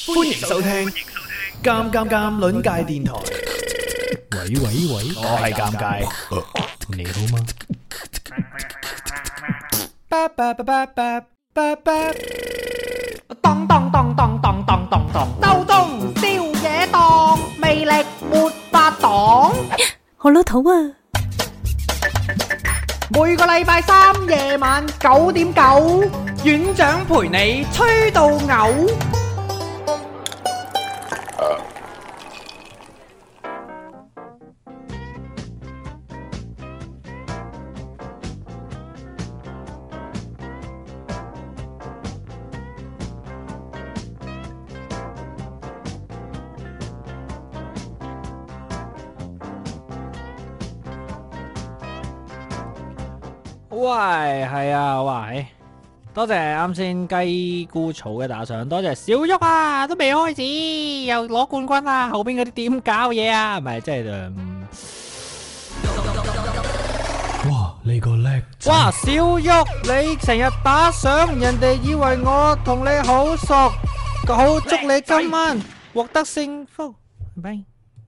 歡迎收聽《尷尷尷》鄰界電台。 喂喂喂， 我係尷尬， 你好嗎？ 當當當當當當當當，周中宵夜檔，魅力沒法擋。 好老土啊！ 每個禮拜三夜晚9:9，院長陪你吹到嘔。 喂，係啊，喂，多謝啱先雞菇草嘅打賞，多謝小旭啊，都未開始又攞冠軍啦，後邊嗰啲點搞嘢啊？唔係，即係哇，你個叻仔！ 哇，小旭你成日打賞，人哋以為我同你好熟，好祝你今晚獲得幸福，係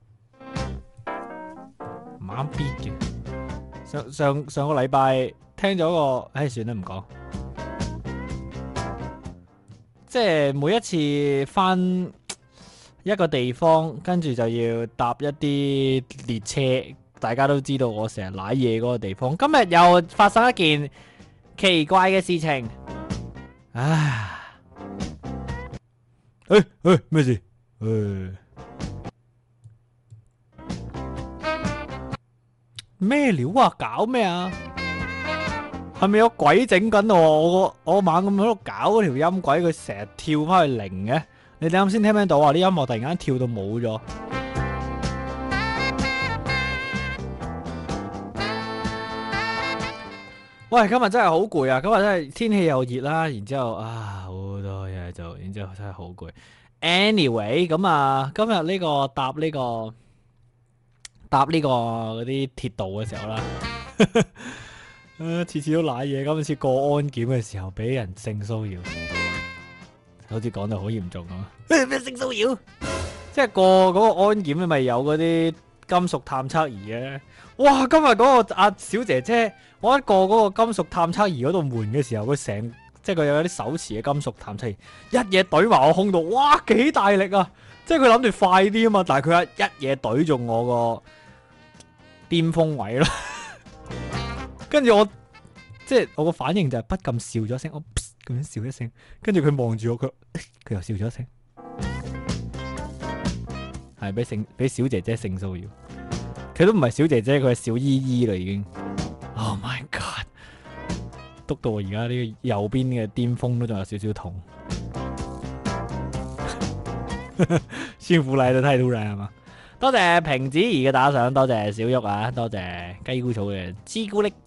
唔啱 beat 嘅。上個禮拜。聽咗個，算啦唔講。即係每一次返一個地方，跟住就要搭一啲列車。大家都知道我成日瀨嘢嗰個地方。今日又發生一件奇怪嘅事情。唉，咩事？咩料啊？搞咩啊？係咪有鬼整緊我猛咁喺度搞嗰條音軌，佢成日跳翻去零嘅？你哋啱先聽唔聽到啊？啲音樂突然間跳到冇咗。喂，今日真係好攰啊！今日真係天氣又熱啦，然之後好多嘢做，然之後真係好攰。Anyway，咁啊，今日呢個搭呢個嗰啲鐵道嘅時候啦。次次都瀨嘢，今次過安檢嘅時候俾人性騷擾，好似講到好嚴重咁。咩性騷擾？即係過嗰個安檢咪有嗰啲金屬探測儀嘅。哇！今日嗰個阿小姐姐，我一過嗰個金屬探測儀嗰度門嘅時候，佢即係佢有啲手持嘅金屬探測儀，一嘢懟埋我胸度，哇！幾大力啊！即係佢諗住快啲啊嘛，但係佢一嘢懟中我個巔峰位啦。跟住即係我個反應就係不禁笑咗一聲，我咁樣笑一聲，跟住佢望住我，佢又笑咗一聲，係俾小姐姐性騷擾，佢都唔係小姐姐，佢係小姨姨啦已經。Oh my god！ 督到我而家呢個右邊嘅巔峰都仲有少少痛。幸福來得太突然係嘛？多謝平子怡嘅打賞，多謝小玉啊，多謝雞菇草嘅朱古力。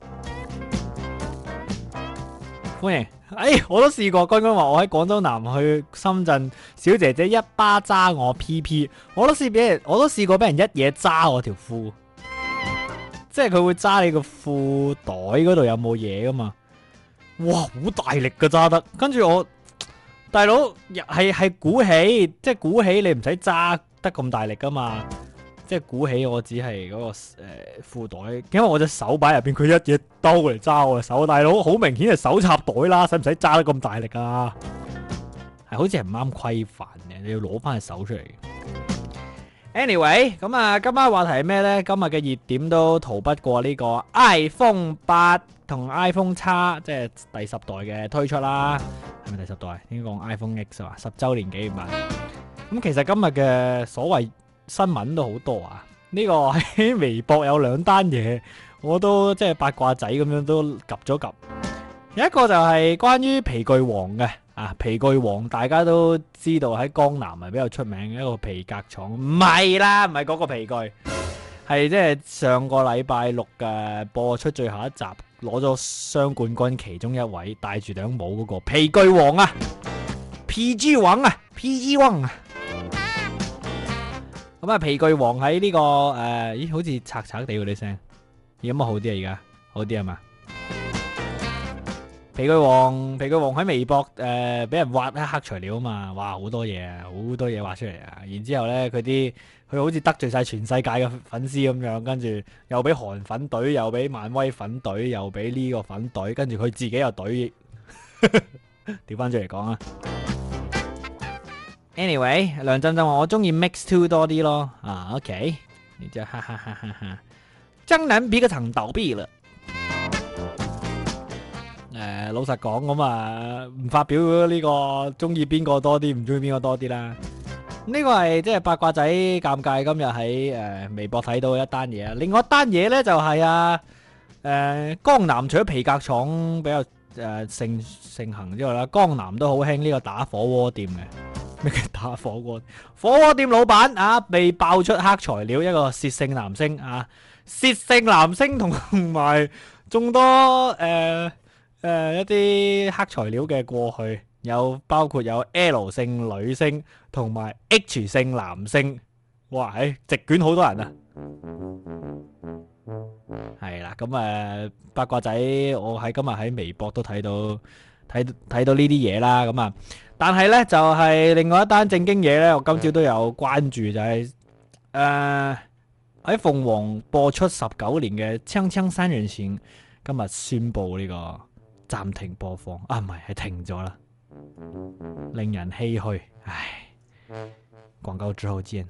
歡迎，我都試過。剛剛話我喺廣州南去深圳，小姐姐一巴揸我 PP， 我都試過俾人一嘢揸我條褲，即係佢會揸你個褲袋嗰度有冇嘢噶嘛？哇，好大力噶揸得，跟住我大佬係鼓起，即係鼓起你唔使揸得咁大力噶嘛。即係鼓起我只係嗰個褲袋，因為我隻手擺入邊，佢一嘢兜嚟揸我隻手，大佬好明顯係手插袋啦，使唔使揸得咁大力啊？係好似係唔啱規範嘅，你要攞翻隻手出嚟。Anyway， 咁啊，今晚話題係咩呢？今日嘅熱點都逃不過呢個 iPhone 8同 iPhone X， 即係第10代嘅推出啦。係咪第10代？應該講 iPhone X 啊，10週年紀念版。咁其實今日嘅所謂新聞都好多啊！呢個喺微博有2單嘢，我都即係八卦仔咁樣都及咗及。有一個就係關於皮具王嘅皮具王大家都知道喺江南係比較出名嘅一個皮革廠，唔係啦，唔係嗰個皮具，係即係上個禮拜6嘅播出最後一集攞咗雙冠軍其中一位戴住頂帽嗰個皮具王啊 ，PG 王啊 ，PG 王啊！咁啊，皮具王喺呢個好似拆拆地嗰啲聲，而家好啲啊？而家好啲係嘛？ 皮具王喺微博俾人挖黑材料啊嘛，哇好多嘢啊，好多嘢挖出嚟啊！然之後咧佢好似得罪晒全世界嘅粉絲咁樣，跟住又俾韓粉隊，又俾漫威粉隊，又俾呢個粉隊，跟住佢自己又隊。調翻轉嚟講啊 ，anyway， 梁振振話我中意 mix two 多啲咯，啊 OK， 你就哈哈哈哈哈，江南皮革廠倒閉了。老實講咁啊，唔發表呢個中意邊個多啲，唔中意邊個多啲啦。呢個係即係八卦仔尷尬，今日喺微博睇到一單嘢啊。另外一單嘢咧就係江南除咗皮革廠比較盛行之外啦，江南都好興呢個打火鍋店嘅。咩叫打火鍋？火鍋店老闆啊，被爆出黑材料，一個薛姓男星啊，薛姓男星同埋眾多一啲黑材料嘅過去，包括有 L 姓女星同埋 H 姓男星，哇，席捲好多人啊！係啦，咁八卦仔，我今日喺微博都睇到呢啲嘢啦，咁啊，但係呢，就係另外一單正經嘢呢，我今朝都有關注，就係喺鳳凰播出19年嘅《鏘鏘三人行》，今日宣布呢個暫停播放啊，唔係停咗啦，令人唏噓，唉，廣告之後見。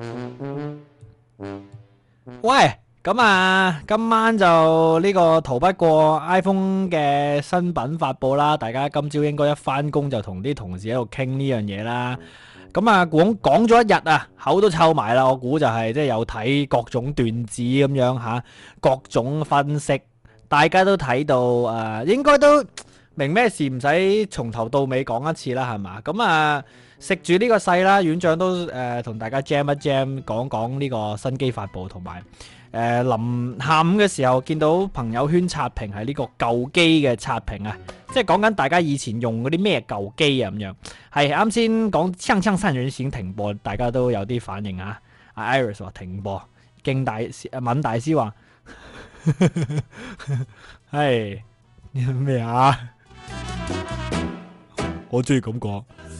喂，咁啊，今晚就呢個逃不過 iPhone 嘅新品發佈啦，大家今朝應該一翻工就同啲同事喺度傾呢樣嘢啦。咁啊，講咗一日啊，口都臭埋啦，我估就係即係有睇各種段子咁樣吓，各種分析。大家都睇到應該都明咩事，唔使從頭到尾講一次啦，係嘛？咁啊，食住呢個勢啦，院長都同大家 jam 一 jam，講呢個新機發佈，同埋臨下午嘅時候見到朋友圈刷屏係呢個舊機嘅刷屏啊，即係講緊大家以前用嗰啲咩舊機啊咁樣。係啱先講鏘鏘三人行停播，大家都有啲反應啊。阿 Iris 話停播，勁大敏大師話。係咩啊？我中意咁講。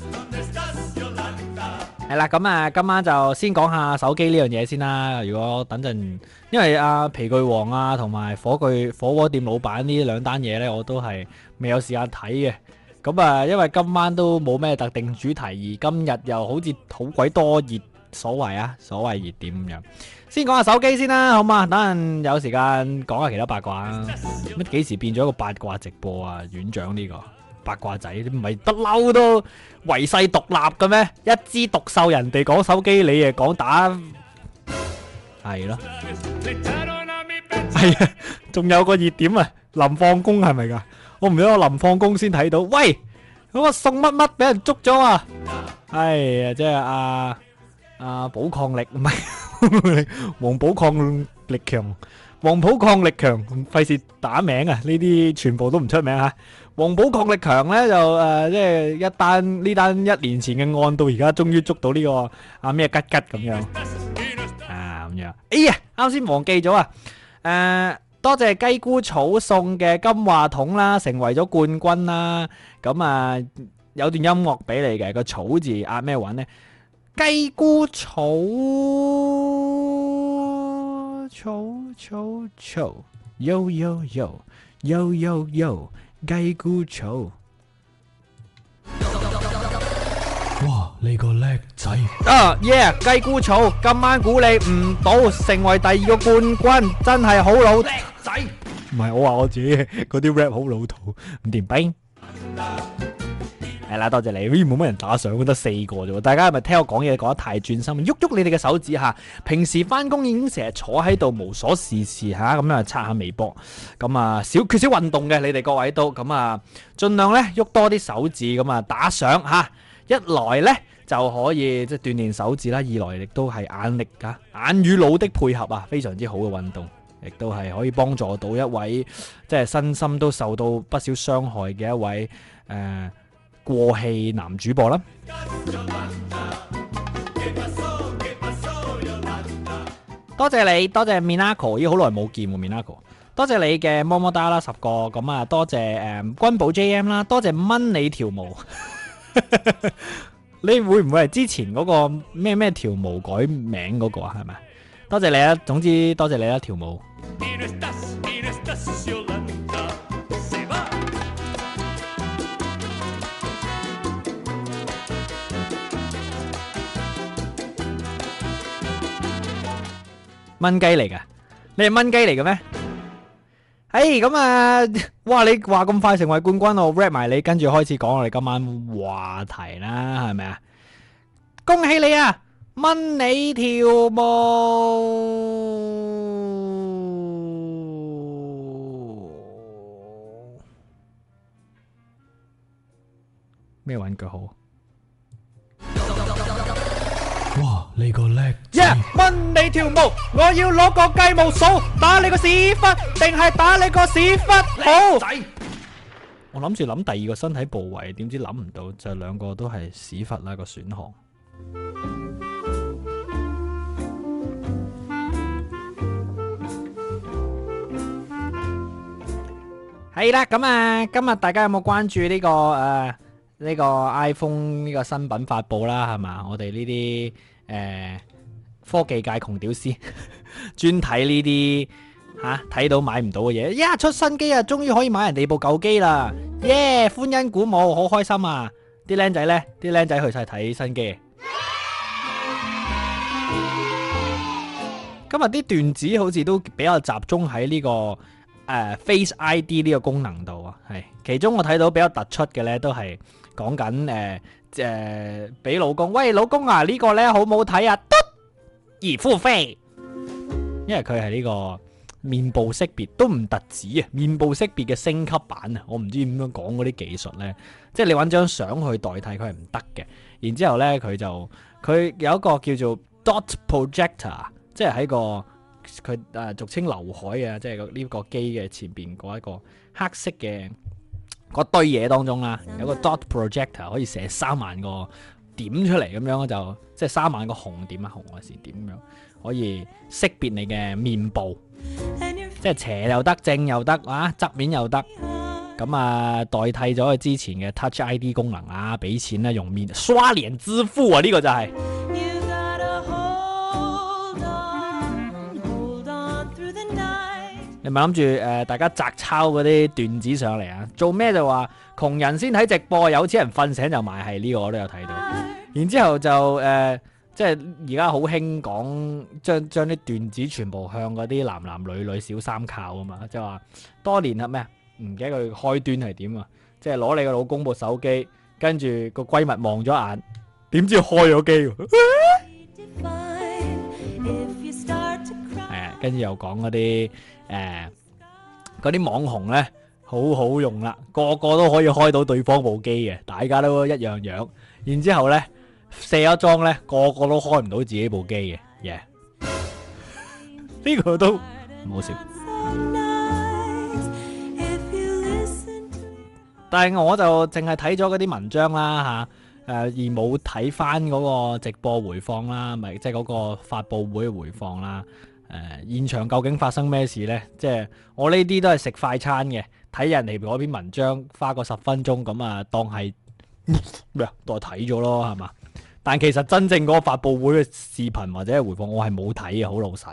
係啦，咁啊，今晚就先講下手機呢樣嘢先啦。如果等陣，因為皮具王啊，同埋火鍋店老闆呢兩單嘢呢，我都係未有時間睇嘅。咁啊，因為今晚都冇咩特定主題，而今日又好似好鬼多所謂熱點咁樣。先講下手機先啦，好嘛？等陣有時間講下其他八卦啊。乜幾時變咗一個八卦直播啊？院長呢個八卦仔，唔係不嬲都唯世獨立嘅咩？一枝獨秀，人哋講手機，你誒講打，係咯？係啊，仲有個熱點啊，臨放工係咪噶？我唔記得我臨放工先睇到，喂，嗰個送乜乜俾人捉咗啊！係啊，即係寶礦力唔係黃寶礦力強，黃寶礦力強，費事打名啊！呢啲全部都唔出名吓。黃寶礦力強咧就即係呢單1年前嘅案，到而家終於捉到呢個咩吉吉咁樣咁樣。哎呀，啱先忘記咗啊！多謝雞菇草送嘅金話筒啦，成為咗冠軍啦。咁有段音樂俾你嘅，個草字壓咩韻呢？雞菇草yo yo yo yo yo yo 雞菇草。 哇，你個叻仔耶！雞菇草今晚估你唔到，成為第2個冠軍，真係好老叻仔。唔係我話我自己嗰啲 rap 好老土，唔掂兵。係啦，多謝你。冇乜人打賞，得4個啫。大家係咪聽我講嘢講得太專心，喐喐你哋嘅手指吓？平時翻工已經成日坐喺度無所事事吓，咁樣刷下微博，咁缺少運動嘅你哋各位都咁盡量咧喐多啲手指，咁打賞吓。一來咧就可以即係鍛煉手指啦，二來亦都係眼力眼與腦的配合非常之好嘅運動，亦都係可以幫助到一位即係身心都受到不少傷害嘅一位過氣男主播啦。多謝你，多謝 Minako， 已經好耐冇見喎 Minako。 多謝你嘅麼麼噠啦10個，咁啊多謝君寶 JM 啦，多謝蚊你條毛，你會唔會係之前嗰個咩條毛改名嗰個啊？係咪？多謝你啊，總之多謝你啦條毛。蚊雞嚟噶，你係蚊雞嚟嘅咩？咁啊，哇！你話咁快成為冠軍，我 rap 埋你，跟住開始講我哋今晚話題啦，係咪啊？恭喜你啊，蚊你條毛！咩玩具好？ 哇！你個叻蚊你條毛，我要攞個雞毛掃，打你個屎忽，定係打你個屎忽好？ 我諗住諗第二個身體部位，點知諗唔到，就兩個都係屎忽啦個選項。係啦，咁啊，今日大家有冇關注呢個 iPhone 呢個新品發佈啦？係嘛，我哋呢啲科技界窮屌絲，專睇呢啲睇到買唔到嘅嘢。出新機啊，終於可以買人哋部舊機啦！耶，歡欣鼓舞，好開心啊！啲僆仔呢？啲僆仔去晒睇新機。今日啲段子好似都比較集中喺呢個Face ID 呢個功能度啊，係其中我睇到比較突出嘅呢，都係講緊俾老公，喂老公啊，呢個呢好唔好睇啊？而付費，因為佢係呢個面部識別都唔特止啊，面部識別嘅升級版啊，我唔知點樣講嗰啲技術呢，即係你揾張相去代替佢係唔得嘅。然之後呢，佢有一個叫做 Dot Projector， 即係喺個佢俗稱劉海啊，即係呢個機嘅前邊嗰一個黑色嘅嗰堆嘢當中啦，有個 Dot Projector 可以寫3萬個點出嚟，咁樣就即係3萬個紅點啊，紅外線點咁樣可以識別你嘅面部，即係斜又得，正又得啊，側面又得。咁啊，代替咗佢之前嘅 Touch ID 功能啊，俾錢咧用面刷臉支付啊，呢個就係。你咪諗住大家摘抄嗰啲段子上嚟啊？做咩就話窮人先睇直播，有錢人瞓醒就買，係呢個我都有睇到。然之後就即係而家好興講將啲段子全部向嗰啲男女小三靠啊嘛，即係話多年係咩？唔記得佢開端係點啊？即係攞你個老公部手機，跟住個閨蜜望咗眼，點知開咗機？跟住又講嗰啲嗰啲網紅呢，好好用啦，個個都可以開到對方部機嘅，大家都一樣樣。然之後呢，卸咗妝呢，個個都開唔到自己部機嘅，呢個都唔好笑。但係我就淨係睇咗嗰啲文章啦而冇睇翻嗰個直播回放啦，咪即係嗰個發佈會回放啦。現場究竟發生咩事呢？即係我呢啲都係食快餐嘅，睇人哋嗰篇文章花個10分鐘咁啊，當係咩啊？當係睇咗咯，係嘛？但其實真正嗰個發佈會嘅視頻或者係回放，我係冇睇嘅，好老實。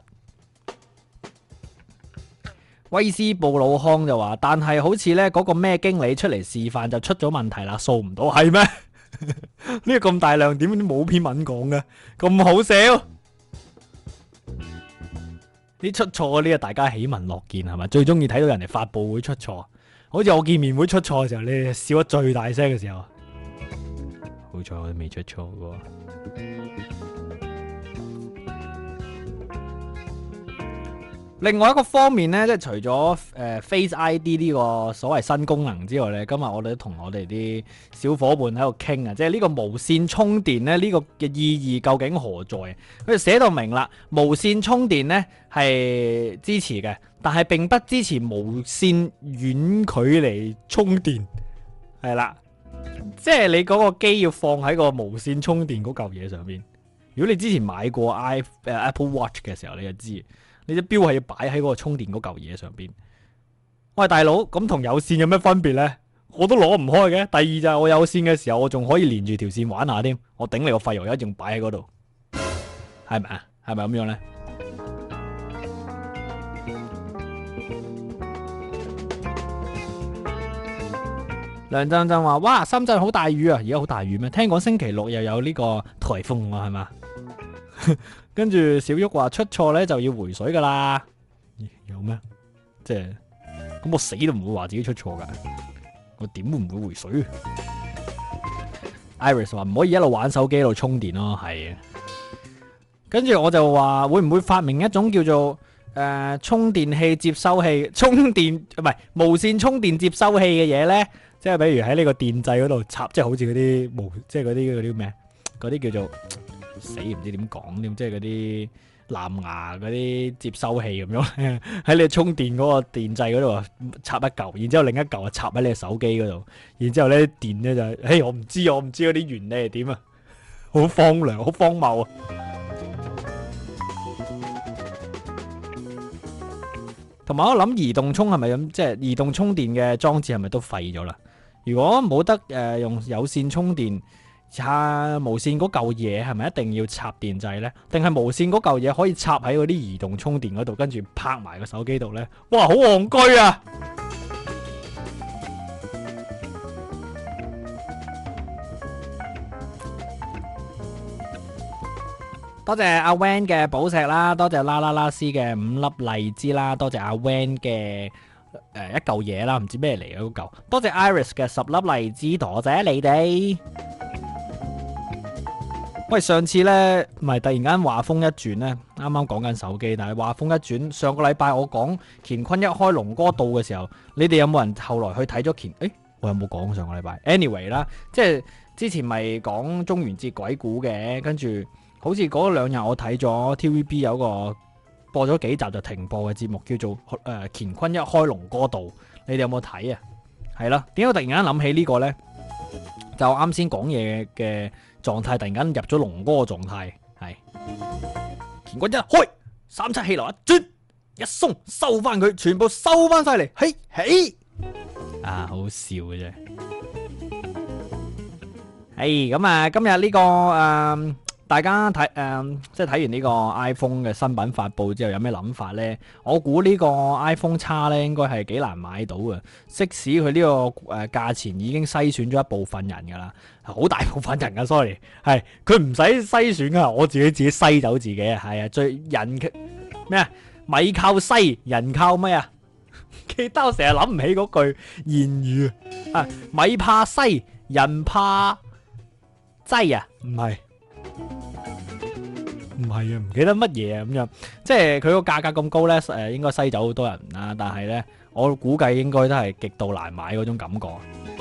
威斯布魯康就話，但係好似呢嗰個咩經理出嚟示範就出咗問題啦，掃唔到，係咩？呢個咁大亮點冇篇文講嘅，咁好笑。啲出錯嗰啲啊，大家喜聞樂見係咪？最中意睇到人哋發佈會出錯，好似我見面會出錯嘅時候，你笑得最大聲嘅時候，好彩我都未出錯喎。另外一個方面呢，即係除咗Face ID 呢個所謂新功能之外呢，今日我哋都同我哋啲小伙伴喺度傾啊，即係呢個無線充電呢，呢個嘅意義究竟何在？佢哋寫到明啦，無線充電呢係支持嘅，但係並不支持無線遠距離充電，係啦，即係你嗰個機要放喺個無線充電嗰嚿嘢上邊。如果你之前買過Apple Watch 嘅時候，你就知。你隻錶係要擺喺嗰個充電嗰嚿嘢上邊， 喂，大佬，咁同有線有咩分別呢？我都攞唔開嘅。第二就係我有線嘅時候，我仲可以連住條線玩下添。我頂你個肺，我一仲擺喺嗰度，係咪啊？係咪咁樣呢？梁振振話：哇，深圳好大雨啊！而家好大雨咩？聽講星期六又有呢個颱風喎，係嘛？跟住小玉話出錯呢就要回水噶啦。有咩？即係咁我死都唔會話自己出錯噶，我點會唔會回水 ？Iris 話唔可以一路玩手機一路充電咯，係啊。跟住我就話會唔會發明一種叫做充電器接收器，充電唔係無線充電接收器嘅嘢呢？即係比如喺呢個電掣嗰度插，即係好似嗰啲無，即係嗰啲咩？嗰啲叫做死唔知點講添，即係嗰啲藍牙嗰啲接收器咁樣喺你充電嗰個電掣嗰度插一嚿，然之後另一嚿啊插喺你嘅手機嗰度，然之後咧電咧就係，我唔知嗰啲原理係點啊，好荒涼，好荒謬啊！同埋我諗移動充係咪咁，即係移動充電嘅裝置係咪都廢咗啦？如果冇得用有線充電，無線嗰嚿嘢係咪一定要插電掣呢？定係無線嗰嚿嘢可以插喺嗰啲移動充電嗰度，跟住拍埋個手機度呢？哇，好戇居啊！多謝阿 Van 嘅寶石啦，多謝啦啦啦斯嘅5粒荔枝啦，多謝阿 Van 嘅一嚿嘢啦，唔知咩嚟嘅嗰嚿，多謝 Iris 嘅10粒荔枝，多謝你哋。喂，上次呢，唔係突然間話風一轉呢，啱啱講緊手機，但係話風一轉，上個禮拜我講乾坤一開龍哥道嘅時候，你哋有冇人後來去睇咗乾？我有冇講上個禮拜 ？Anyway 啦，即係之前咪講中元節鬼故嘅，跟住好似嗰2日我睇咗 TVB 有個播咗幾集就停播嘅節目，叫做乾坤一開龍哥道，你哋有冇睇啊？係啦，點解我突然間諗起呢個呢？就啱先講嘢嘅狀態突然間入咗龍哥嘅狀態，係乾坤一開3七氣流一轉一鬆收翻佢，全部收翻晒嚟，嘿嘿啊，好笑嘅啫。係咁啊，今日呢個大家睇即係睇完呢個 iPhone 嘅新品發布之後有咩諗法呢？我估呢個 iPhone X 呢應該係幾難買到嘅，即使佢呢個價錢已經篩選咗一部分人噶啦，好大部分人噶 ，sorry， 係佢唔使篩選噶，我自己篩走自己啊，係啊，最人咩啊？米靠篩，人靠咩啊？記得我成日諗唔起嗰句諺語啊，米怕篩，人怕擠啊，唔係。唔係啊，唔記得乜嘢啊咁樣，即係佢個價格咁高呢，應該篩走好多人啦。但係呢，我估計應該都係極度難買嗰種感覺。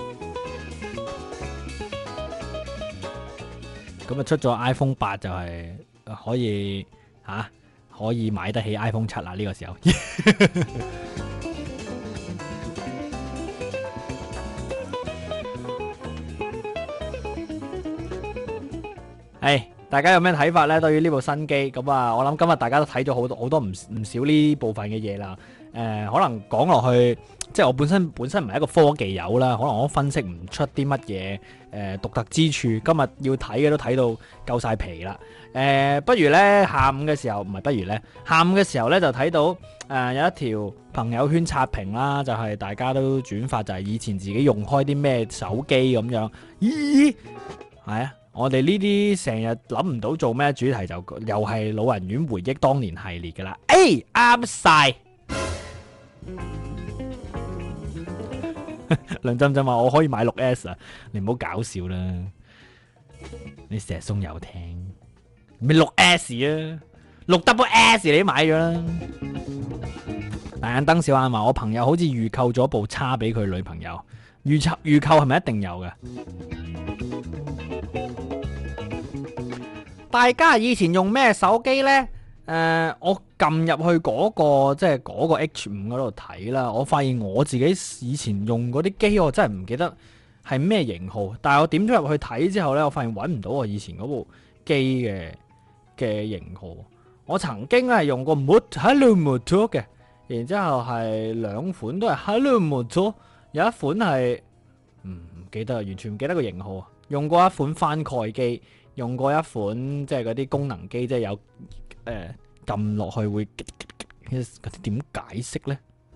咁啊，出咗 iPhone 8就係可以可以買得起 iPhone 7啦。呢個時候，係。大家有咩睇法呢？對於呢部新機咁啊，我諗今日大家都睇咗好多唔少呢部分嘅嘢啦。可能講落去，即係我本身唔係一個科技友啦，可能我分析唔出啲乜嘢獨特之處。今日要睇嘅都睇到夠晒皮啦。不如呢，下午嘅時候就睇到有一條朋友圈刷屏啦，就係大家都轉發，就係以前自己用開啲咩手機咁樣。咦，係啊！我哋呢啲成日諗唔到做咩主題，就又係老人院回憶當年系列噶啦。啱晒。梁振振話我可以買6S 啊，你唔好搞笑啦，你成日送遊艇咩6S 啊，6SS 你都買咗啦。大眼燈小眼話我朋友好似預購咗部叉俾佢女朋友，預購係咪一定有嘅？大家以前用咩手機呢？我撳入去嗰個即係嗰個 H5 嗰度睇啦，我發現我自己以前用嗰啲機，我真係唔記得係咩型號。但係我點咗入去睇之後呢，我發現揾唔到我以前嗰部機嘅型號。我曾經係用過 Hello Moto 嘅然之後係兩款都係 Hello Moto， 有一款係唔記得，完全唔記得個型號啊。用過一款翻蓋機，用過一款即係嗰啲功能機，即係有撳落去會嗰啲點解釋呢？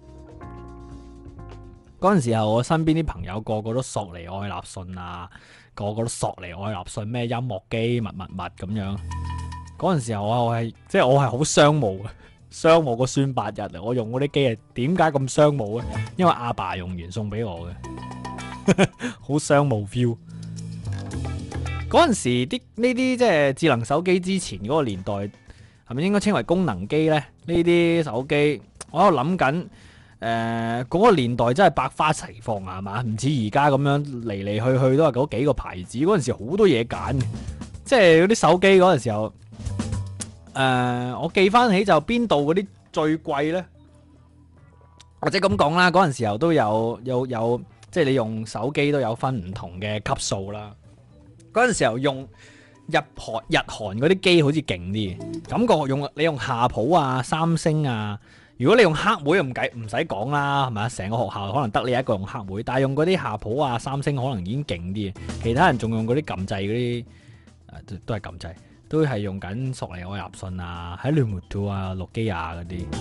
嗰陣時候，我身邊啲朋友個個都索尼愛立信啊，個個都索尼愛立信咩音樂機乜咁樣。嗰陣時候我係好商務嘅，商務個孫8日啊！我用嗰啲機係點解咁商務咧？因為阿爸用完送俾我嘅，好商務 feel。嗰陣時啲呢啲即係智能手機之前嗰個年代，係咪應該稱為功能機呢？呢啲手機我喺度諗緊。嗰個年代真係百花齊放啊，係嘛？唔似而家咁樣嚟嚟去去都係嗰幾個牌子。嗰陣時好多嘢揀，即係嗰啲手機嗰陣時候，我記翻起就邊度嗰啲最貴呢？或者咁講啦，嗰陣時候都有，即係你用手機都有分唔同嘅級數啦。嗰陣時候用日韓嗰啲機好似勁啲，感覺你用夏普啊、三星啊。如果你用黑莓唔使講啦，係咪啊？成個學校可能得你一個用黑莓，但係用嗰啲夏普啊、三星可能已經勁啲，其他人仲用嗰啲撳掣嗰啲，都係撳掣，都係用緊索尼愛立信啊、喺聯摩啊、諾基亞嗰啲。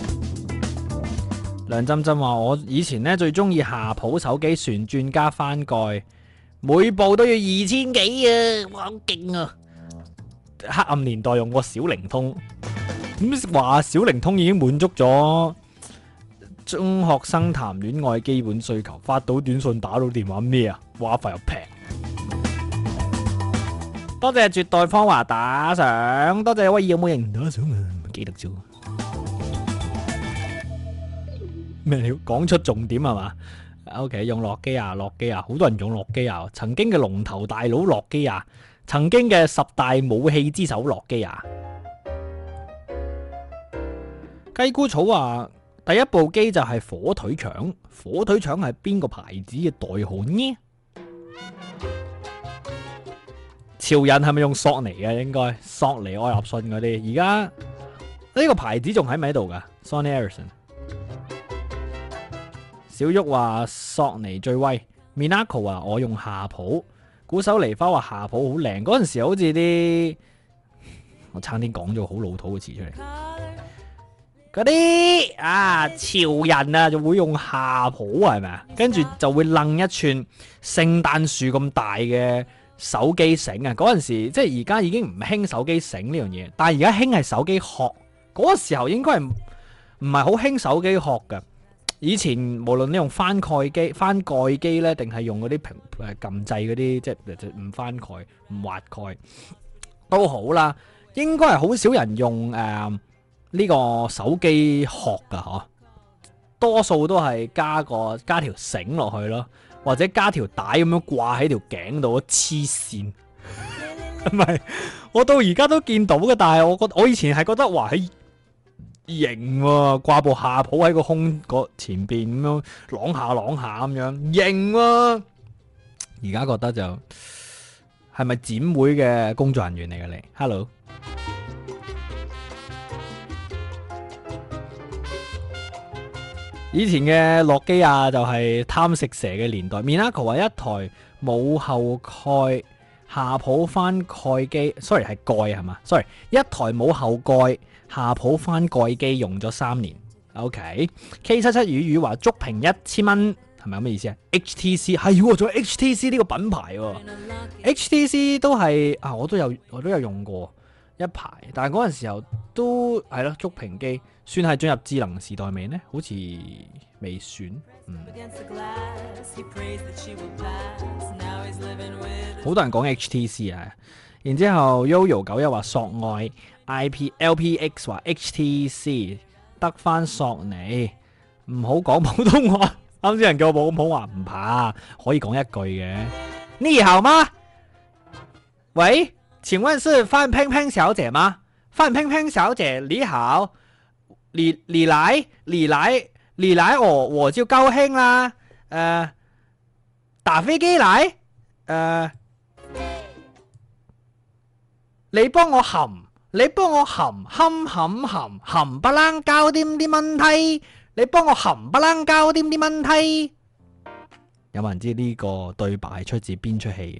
梁浸浸話：我以前咧最中意夏普手機旋轉加翻蓋，每部都要2000幾啊！哇，好勁啊！黑暗年代用過小靈通。咁話小靈通已經滿足咗中學生談戀愛基本需求，發到短信打到電話咩啊？話費又平。多謝絕代芳華打賞，多謝威爾有冇人打賞啊？唔記得咗咩料？講出重點係嘛 ？OK， 用諾基亞，好多人用諾基亞，曾經嘅龍頭大佬諾基亞，曾經嘅10大武器之首諾基亞。雞菇草話第一部機就係火腿腸，火腿腸係邊個牌子嘅代號呢？潮人係咪用索尼嘅？應該索尼愛立信嗰啲。而家呢個牌子仲喺咪喺度噶 ？Sony Ericsson。小玉話索尼最威 ，Minako 話我用夏普，古手梨花話夏普好靚。嗰陣時好似啲，我差啲講咗好老土嘅詞出嚟。嗰啲潮人啊就會用夏普係咪啊？跟住就會掹一串聖誕樹咁大嘅手機繩啊！嗰陣時即係而家已經唔興手機繩呢樣嘢，但係而家興係手機殼。嗰個時候應該係唔係好興手機殼㗎。以前無論你用翻蓋機咧，定係用嗰啲撳掣嗰啲，即係唔翻蓋唔滑蓋都好啦。應該係好少人用呢個手機殼噶嗬，多數都係加條繩落去咯，或者加條帶咁樣掛喺條頸度，黐線。唔係，我到而家都見到嘅，但係我以前係覺得哇，係型喎，掛部夏普喺個胸前邊咁樣啷下咁樣型喎。而家覺得就係咪展會嘅工作人員嚟嘅你 ？Hello。以前嘅諾基亞就係貪食蛇嘅年代。Minako 話一台冇後蓋夏普翻蓋機 ，sorry 係蓋係嘛 ？sorry 一台冇後蓋夏普翻蓋機用咗3年。OK，K77 雨話觸屏1000蚊係咪咁嘅意思啊 ？HTC 係喎，仲有 HTC 呢個品牌喎。HTC 都係啊，我都有用過一排，但係嗰陣時候都係咯，觸屏機。算係進入智能時代未呢？好似未算。好多人講 HTC 啊，然之後 Yoyo91 話索愛 LPX 話 HTC 得翻索尼，唔好講普通話。啱先人叫我講普通話唔怕，可以講一句嘅。你好嗎？喂，請問是范冰冰小姐嗎？范冰冰小姐你好。你來我就高興啦。打飛機嚟，你幫我含你幫我冚不啷搞掂啲問題，你幫我冚不啷搞掂啲問題。有冇人知呢個對白係出自邊出戲嘅？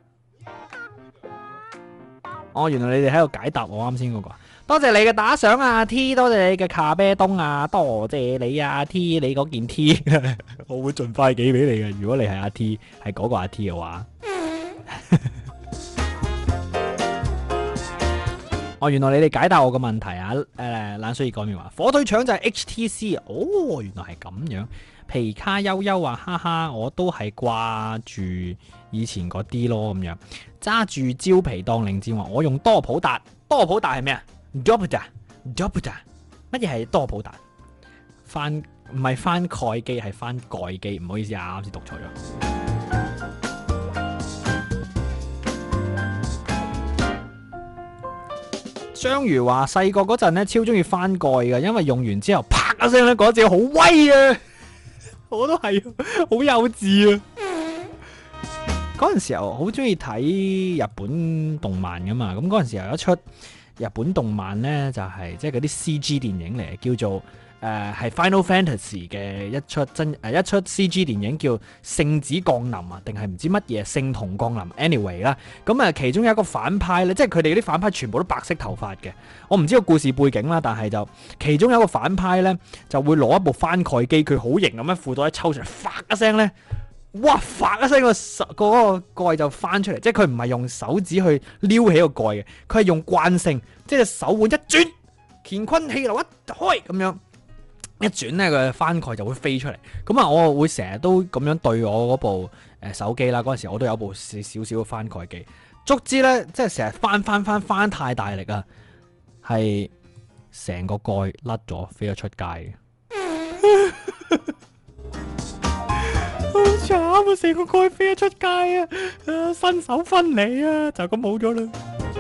哦，原來你哋喺度解答我啱先嗰個。多謝你嘅打賞啊 T， 多謝你嘅卡啤東啊，多謝你啊 T， 你嗰件 T， 我會盡快寄俾你嘅。如果你係阿 T， 係嗰個阿 T 嘅話。哦，原來你哋解答我個問題啊！冷水熱講面話火腿腸就係 HTC， 哦，原來係咁樣。皮卡悠悠話哈哈，我都係掛住以前嗰啲咯咁樣。揸住蕉皮當令箭話我用多普達，多普達係咩啊 ？Doputa， 乜嘢係多普達？唔係翻蓋機，係翻蓋機，唔好意思啊，啱先讀錯咗。章魚話細個嗰陣咧超中意翻蓋嘅，因為用完之後啪一聲咧，嗰隻好威啊！我都係，好幼稚啊！嗰陣時候好中意睇日本動漫噶嘛，咁嗰陣時候有一出日本動漫咧，就係即係嗰啲 CG 電影嚟，叫做係 Final Fantasy 嘅一出一出 CG 電影，叫聖子降臨啊，定係唔知乜嘢聖童降臨 anyway 啦。咁啊，其中有一個反派咧，即係佢哋啲反派全部都白色頭髮嘅。我唔知個故事背景啦，但係就其中有一個反派咧，就會攞一部翻蓋機，佢好型咁樣褲袋一抽出嚟，發一聲咧，哇！發一聲嗰個蓋就翻出嚟，即係佢唔係用手指去撩起個蓋嘅，佢係用慣性，即係手腕一轉，乾坤氣流一開咁樣。一轉咧，個翻蓋就會飛出嚟。咁啊，我會成日都咁樣對我嗰部手機啦。嗰陣時我都有部少少嘅翻蓋機，足之咧即係成日翻太大力啊，係成個蓋甩咗，飛咗出街嘅。好慘啊！成個蓋飛咗出街啊！新手分離啊，就咁冇咗啦。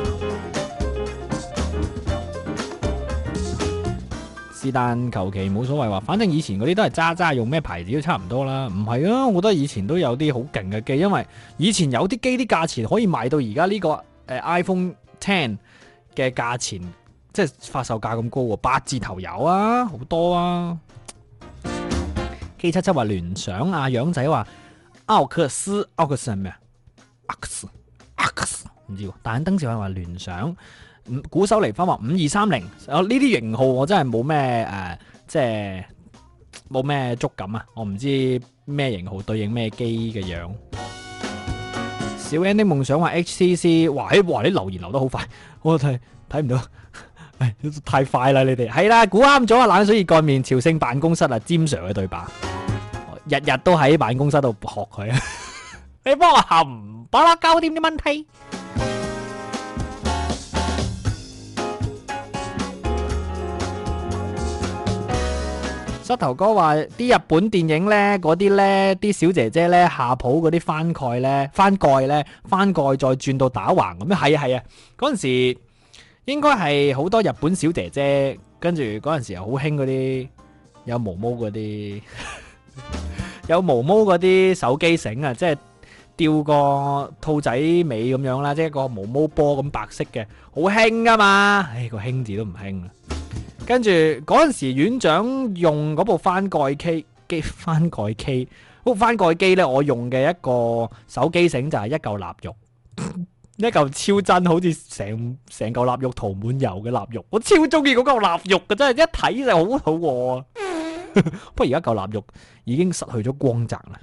是但求其冇所謂話，反正以前嗰啲都係渣，用咩牌子都差唔多啦。唔係啊，我覺得以前都有啲好勁嘅機，因為以前有啲機啲價錢可以賣到而家呢個iPhone X 嘅價錢，即係發售價咁高喎，8字頭有啊，好多啊。K77 話聯想啊，楊仔話奧克斯係咩啊？奧克斯唔知喎，但係登時話聯想。鼓手嚟翻話5230，呢啲型號我真係冇咩即係冇咩觸感啊！我唔知咩型號對應咩機嘅樣。小 N 的夢想話 HTC， 哇你留言留得好快，我睇唔到，太快啦！你哋係啦，估啱咗啊！冷水熱乾麵，朝聖辦公室啊，詹 Sir 嘅對白，日日都喺辦公室度學佢啊！你幫我冚巴啦搞掂啲問題。膝頭哥話啲日本電影咧，嗰啲咧啲小姐姐咧下鋪嗰啲翻蓋再轉到打橫咁樣，係啊，嗰陣時應該係好多日本小姐姐，跟住嗰陣時又好興嗰啲有毛毛嗰啲有毛毛嗰啲手機繩啊，即係吊個兔仔尾咁樣啦，即係個毛毛波咁白色嘅，好興噶嘛，個興字都唔興啦。跟住嗰陣時，院長用嗰部翻蓋機，嗰部翻蓋機咧，我用嘅一個手機繩就係一嚿臘肉，一嚿超真，好似成嚿臘肉塗滿油嘅臘肉，我超中意嗰嚿臘肉嘅，真係一睇就好肚餓啊！不過而家嚿臘肉已經失去咗光澤啦。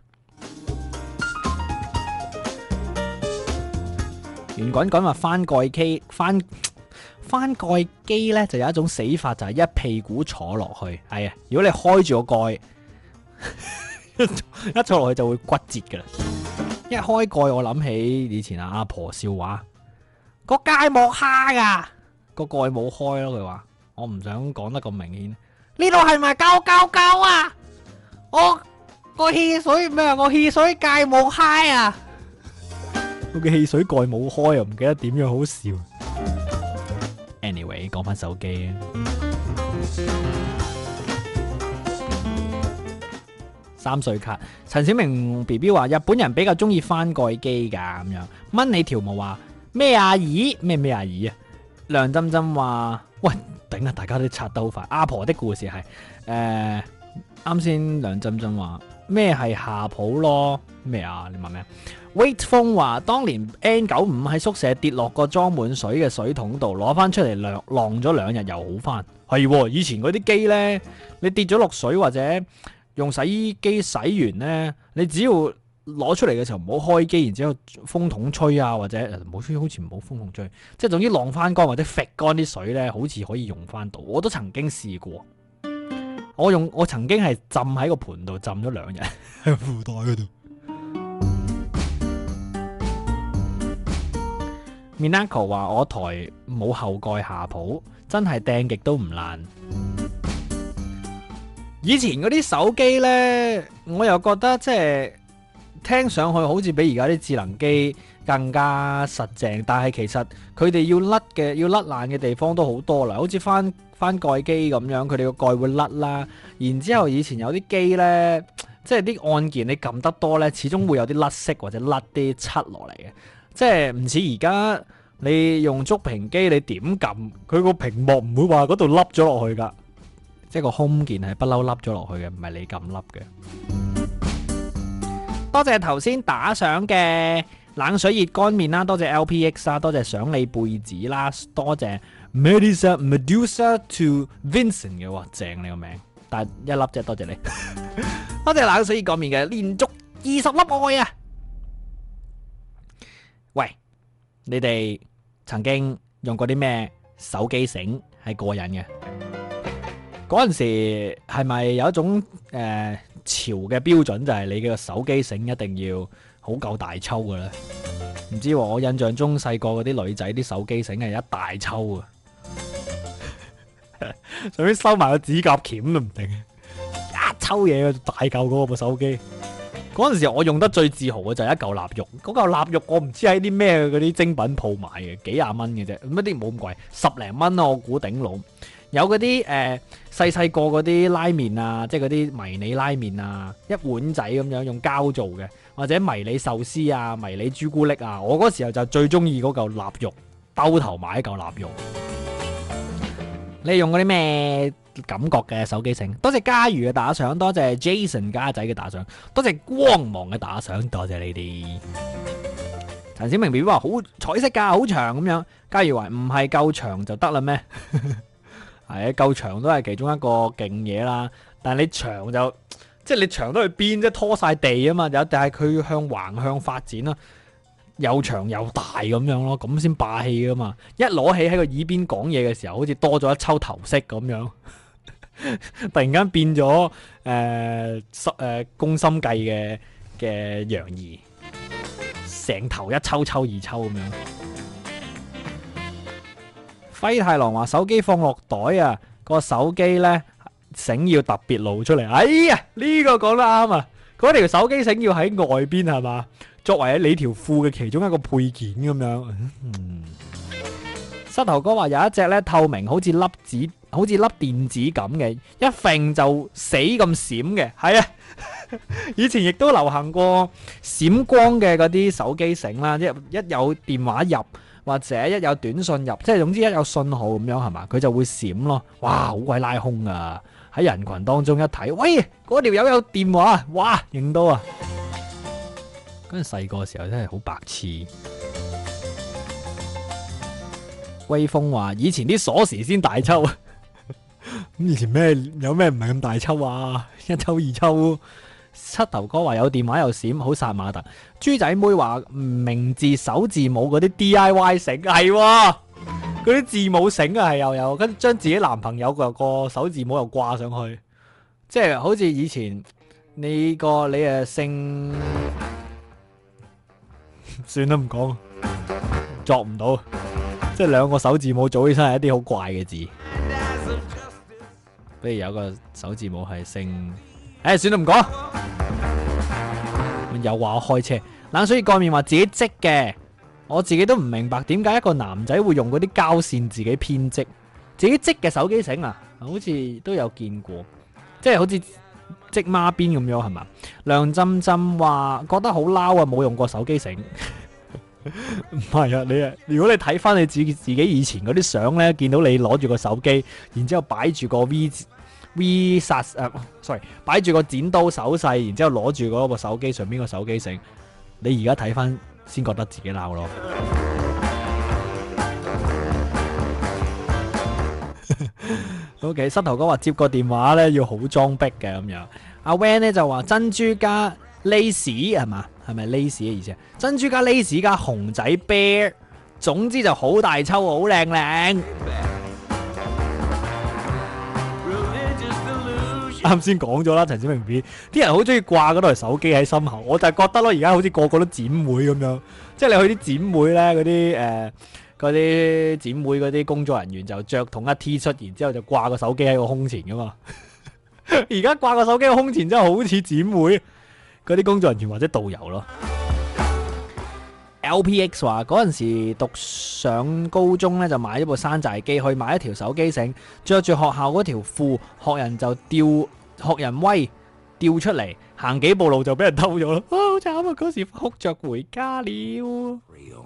圓滾滾話翻蓋機翻蓋機咧就有一種死法，就係一屁股坐落去。係啊，如果你開住個蓋，一坐落去就會骨折噶啦。一開蓋，我諗起以前阿婆笑話，個芥末蝦噶，個蓋冇開咯。佢話我唔想講得咁明顯。呢度係咪膠啊？我個汽水咩啊？個汽水芥末蝦啊！我嘅汽水蓋冇開，又唔記得點樣好笑。Anyway， 講翻手機啊。3歲卡，陳小明 BB 話日本人比較中意翻蓋機噶咁樣。掹你條毛話咩阿姨咩阿姨啊？ 梁針針話：喂，頂啊！大家都刷得好快。阿婆的故事係啱先梁針針話咩係夏普咯？咩啊？你問咩？Wait 風話：當年 N95 喺宿舍跌落個裝滿水嘅水桶度，攞翻出嚟晾咗2日又好翻。係喎，以前嗰啲機呢，你跌咗落水或者用洗衣機洗完呢，你只要攞出嚟嘅時候唔好開機，然之後風筒吹啊，或者冇吹，好似唔好風筒吹，即係總之晾翻乾或者揈乾啲水呢，好似可以用翻到。我都曾經試過，我曾經係浸喺個盆度浸咗2日喺褲袋嗰度。Minako 話我台冇後蓋下鋪，真係掟極都唔爛。以前嗰啲手機呢，我又覺得即係聽上去好似比而家啲智能機更加實淨，但係其實佢哋要甩爛嘅地方都好多啦，好似翻蓋機咁樣，佢哋個蓋會甩啦。然之後以前有啲機呢，即係啲按鍵你撳得多呢，始終會有啲甩色或者甩啲漆落嚟嘅。即係唔似而家你用觸屏機，你點撳佢個屏幕唔會話嗰度凹咗落去㗎，即係個 home 鍵係不嬲凹咗落去嘅，唔係你撳凹嘅。多謝頭先打賞嘅冷水熱乾麵啦，多謝 LPX 啦，多謝想你貝子啦，多謝 Medusa to Vincent 嘅，哇正你個名，但係一粒啫，多謝你。多謝冷水熱乾麵嘅連續20粒愛啊！喂，你哋曾經用過啲咩手機繩係過癮嘅？嗰陣時係咪有一種潮嘅標準，就係你嘅手機繩一定要好夠大抽嘅咧？唔知喎，我印象中細個嗰啲女仔啲手機繩係一大抽啊，上面收埋個指甲鉗都唔定，一抽嘢大嚿嗰部手機。嗰陣時我用得最自豪嘅就係一嚿臘肉，嗰嚿臘肉我唔知喺啲咩嗰啲精品鋪買嘅，幾廿蚊嘅啫，乜啲冇咁貴，10零蚊咯，我估頂籠。有嗰啲細個嗰啲拉麵啊，即係嗰啲迷你拉麵啊，一碗仔咁樣用膠做嘅，或者迷你壽司啊、迷你朱古力啊，我嗰時候就最中意嗰嚿臘肉，兜頭買一嚿臘肉。你用嗰啲咩感覺嘅手機繩？多謝嘉瑜嘅打賞，多謝 Jason 家仔嘅打賞，多謝光芒嘅打賞，多謝你哋。陳小明 B B 話好彩色噶，好長咁樣。嘉瑜話唔係夠長就得啦咩？係啊，夠長都係其中一個勁嘢啦。但係你長就即係你長到去邊啫，拖晒地啊嘛。但係佢向橫向發展啦。又長又大咁樣咯，咁先霸氣噶嘛！一攞起喺個耳邊講嘢嘅時候，好似多咗一抽頭飾咁樣，突然間變咗宮心計嘅楊怡，成頭一抽抽二抽咁樣。輝太郎話手機放落袋啊，個手機呢繩要特別露出嚟。哎呀，呢個講得啱啊！嗰條手機繩要喺外邊係嘛？作為喺你條褲嘅其中一個配件咁樣。膝頭哥話有一隻咧透明，好似粒電子咁嘅，一揈就死咁閃嘅。係啊，以前亦都流行過閃光嘅嗰啲手機繩啦，一有電話入或者一有短信入，即係總之一有信號咁樣係嘛，佢就會閃咯。哇，好鬼拉空啊！喺人群當中一睇，喂，嗰條友有電話，哇，認到啊！嗰陣細個時候真係好白痴。威風話以前啲鎖匙先大抽，咁以前有咩唔係咁大抽啊？一抽二抽。膝頭哥話有電話又閃，好殺馬特。豬仔妹話名字首字母嗰啲 DIY 繩係，嗰啲字母繩啊係又有，跟住將自己男朋友個首字母又掛上去，即係好似以前你姓。算啦，唔講，作唔到，即係兩個首字母組起身係一啲好怪嘅字。不如有個首字母係姓，算啦，唔講。又話我開車，冷水蓋面話自己織嘅，我自己都唔明白點解一個男仔會用嗰啲膠線自己編織，自己織嘅手機繩啊，好似都有見過，即係好似織孖邊咁樣係嘛？梁浸浸話覺得好撈啊，冇用過手機繩。 唔係啊，如果你睇翻你自己以前嗰啲相咧，見到你攞住個手機，然之後擺住個 V 殺sorry， 擺住個剪刀手勢，然之後攞住嗰個手機上邊個手機繩，你而家睇翻先覺得自己鬧咯。OK， 膝頭哥話接個電話咧要好裝逼嘅咁樣。阿 Van 咧就話珍珠加 lace 係嘛？係咪 lace 嘅意思啊？珍珠加 lace 加熊仔 bear， 總之就好大抽好靚靚。啱先講咗啦，陳小明 B， 啲人好中意掛嗰台手機喺心口，我就係覺得咯，而家好似個個都剪妹咁樣，即係你去啲剪妹咧，嗰啲剪妹嗰啲工作人員就着同一 T 恤，然之後就掛個手機喺個胸前噶嘛。而家掛個手機喺個胸前真係好似剪妹嗰啲工作人員或者導遊咯。LPX 話嗰陣時讀上高中咧就買咗部山寨機，去買一條手機繩，着住學校嗰條褲，學人就學人威掉出嚟，行幾步路就俾人偷咗咯。好慘啊！嗰時哭着回家了。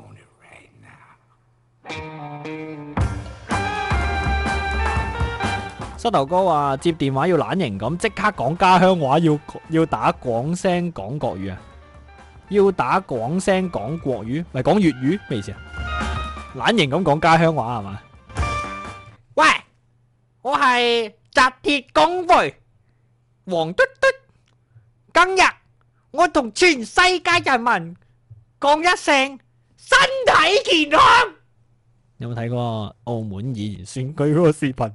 膝頭哥話接電話要懶型咁，即刻講家鄉話，要打廣聲講國語啊！要打廣聲講國語，咪講粵語咩意思啊？懶型咁講家鄉話係嘛？喂，我係紮鐵工會黃嘟嘟，今日我同全世界人民講一聲身體健康。有冇睇過澳門議員選舉嗰個視頻？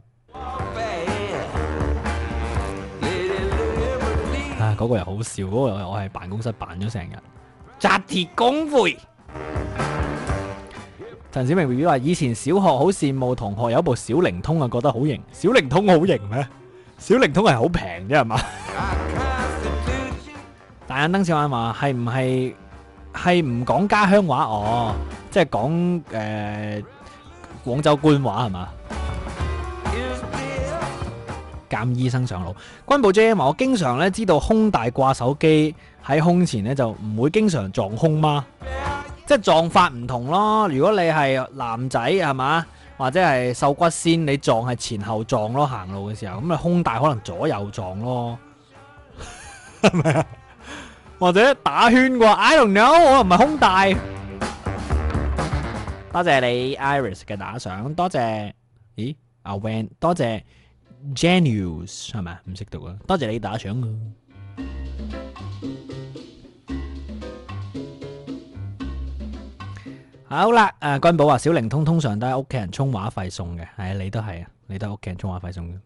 啊，嗰個又好笑，嗰個我係辦公室辦咗成日。紮鐵工會。陳小明 B B 話：以前小學好羨慕同學有部小靈通啊，覺得好型。小靈通好型咩？小靈通係好平啫係嘛？大眼燈小眼話：係唔講家鄉話？哦，即係講廣州官話係嘛？監醫生上路。軍部 J M 話：我經常咧知道胸大掛手機喺胸前咧就唔會經常撞胸嗎？即係撞法唔同咯。如果你係男仔係嘛，或者係瘦骨仙，你撞係前後撞咯，行路嘅時候咁啊，胸大可能左右撞咯，係咪啊？或者打圈嘅話 ，I don't know， 我又唔係胸大。多謝你 Iris 嘅打賞，多謝，咦阿 Van， 多謝 Genius 係咪？唔識讀啊，多謝你打賞啊！好啦，君寶話小靈通通常都係屋企人充話費送嘅，係啊，你都係啊，你都係屋企人充話費送嘅。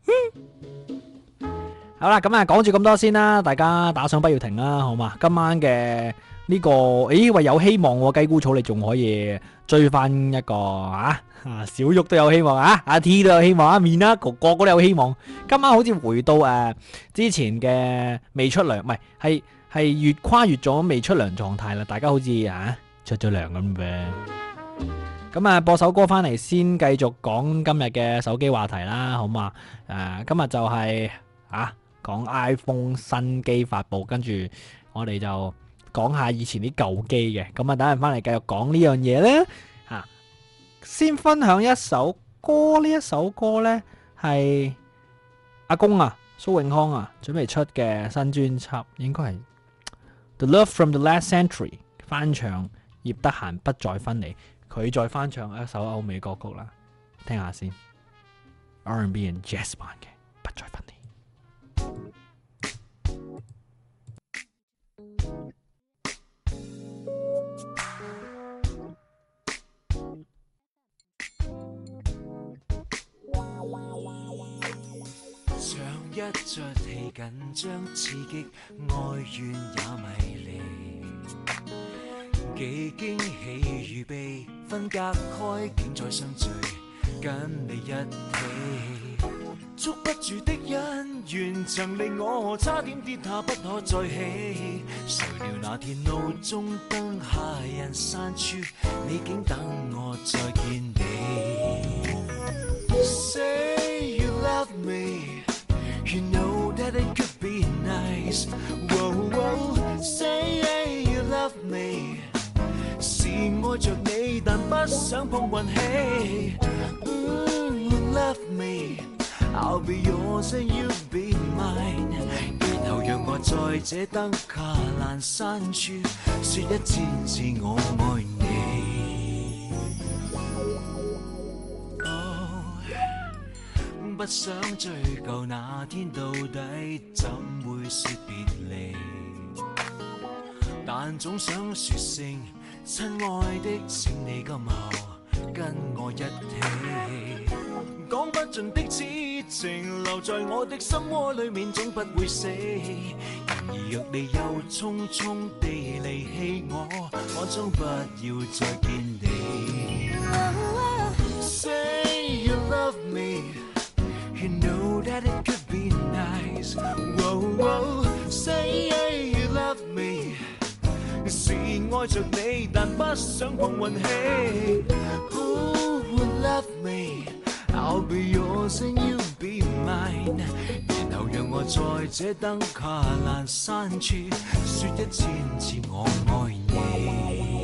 好啦，咁啊講住咁多先啦，大家打賞不要停啦，好嘛？今晚嘅呢個，咦喂有希望喎，雞菇草你仲可以追翻一個小玉都有希望啊，阿 T 都有希望啊，面啦個個都有希望。今晚好似回到之前嘅未出糧，唔係越跨越咗未出糧狀態啦，大家好似出咗糧咁嘅。咁啊播首歌翻嚟先，繼續講今日嘅手機話題啦，好嘛？今日就係講 iPhone 新機發佈，跟住我哋就講下以前啲舊機嘅。咁啊等陣翻嚟繼續講呢樣嘢咧。先分享一首歌，呢一首歌咧係阿公蘇永康準備出嘅新專輯，應該係 The Love from the Last Century 翻唱葉德嫻不再分離，佢再翻唱一首歐美歌曲啦，聽下先 R&B and Jazz 版嘅不再分離。 一出戲緊張刺激，愛怨也迷離，幾驚喜預備分隔開，竟再相聚，跟你一起，捉不住的恩怨曾令我差點跌下不可再起，誰料那天路中燈下人散處，你竟等我再見你。 Say you love me, you know that it could be nice. Whoa, whoa, say you love me. 是愛着想碰運氣。Love me, I'll be yours and you'll be mine。然後讓我在這燈卡闌珊處說一千次我愛你。不想追究那天到底怎會說別離，但總想說聲親愛的，請你今後跟我一起。講不盡的痴情留在我的心窩裏面，總不會死。然而若你又匆匆地離棄我終不要再見你。Say you love me, you know that it could be nice. Whoa, whoa, say you love me。是愛着你，但不想碰運氣。Who would love me? I'll be yours and you'll be mine。然後讓我在這燈卡闌珊處說一千次我愛你。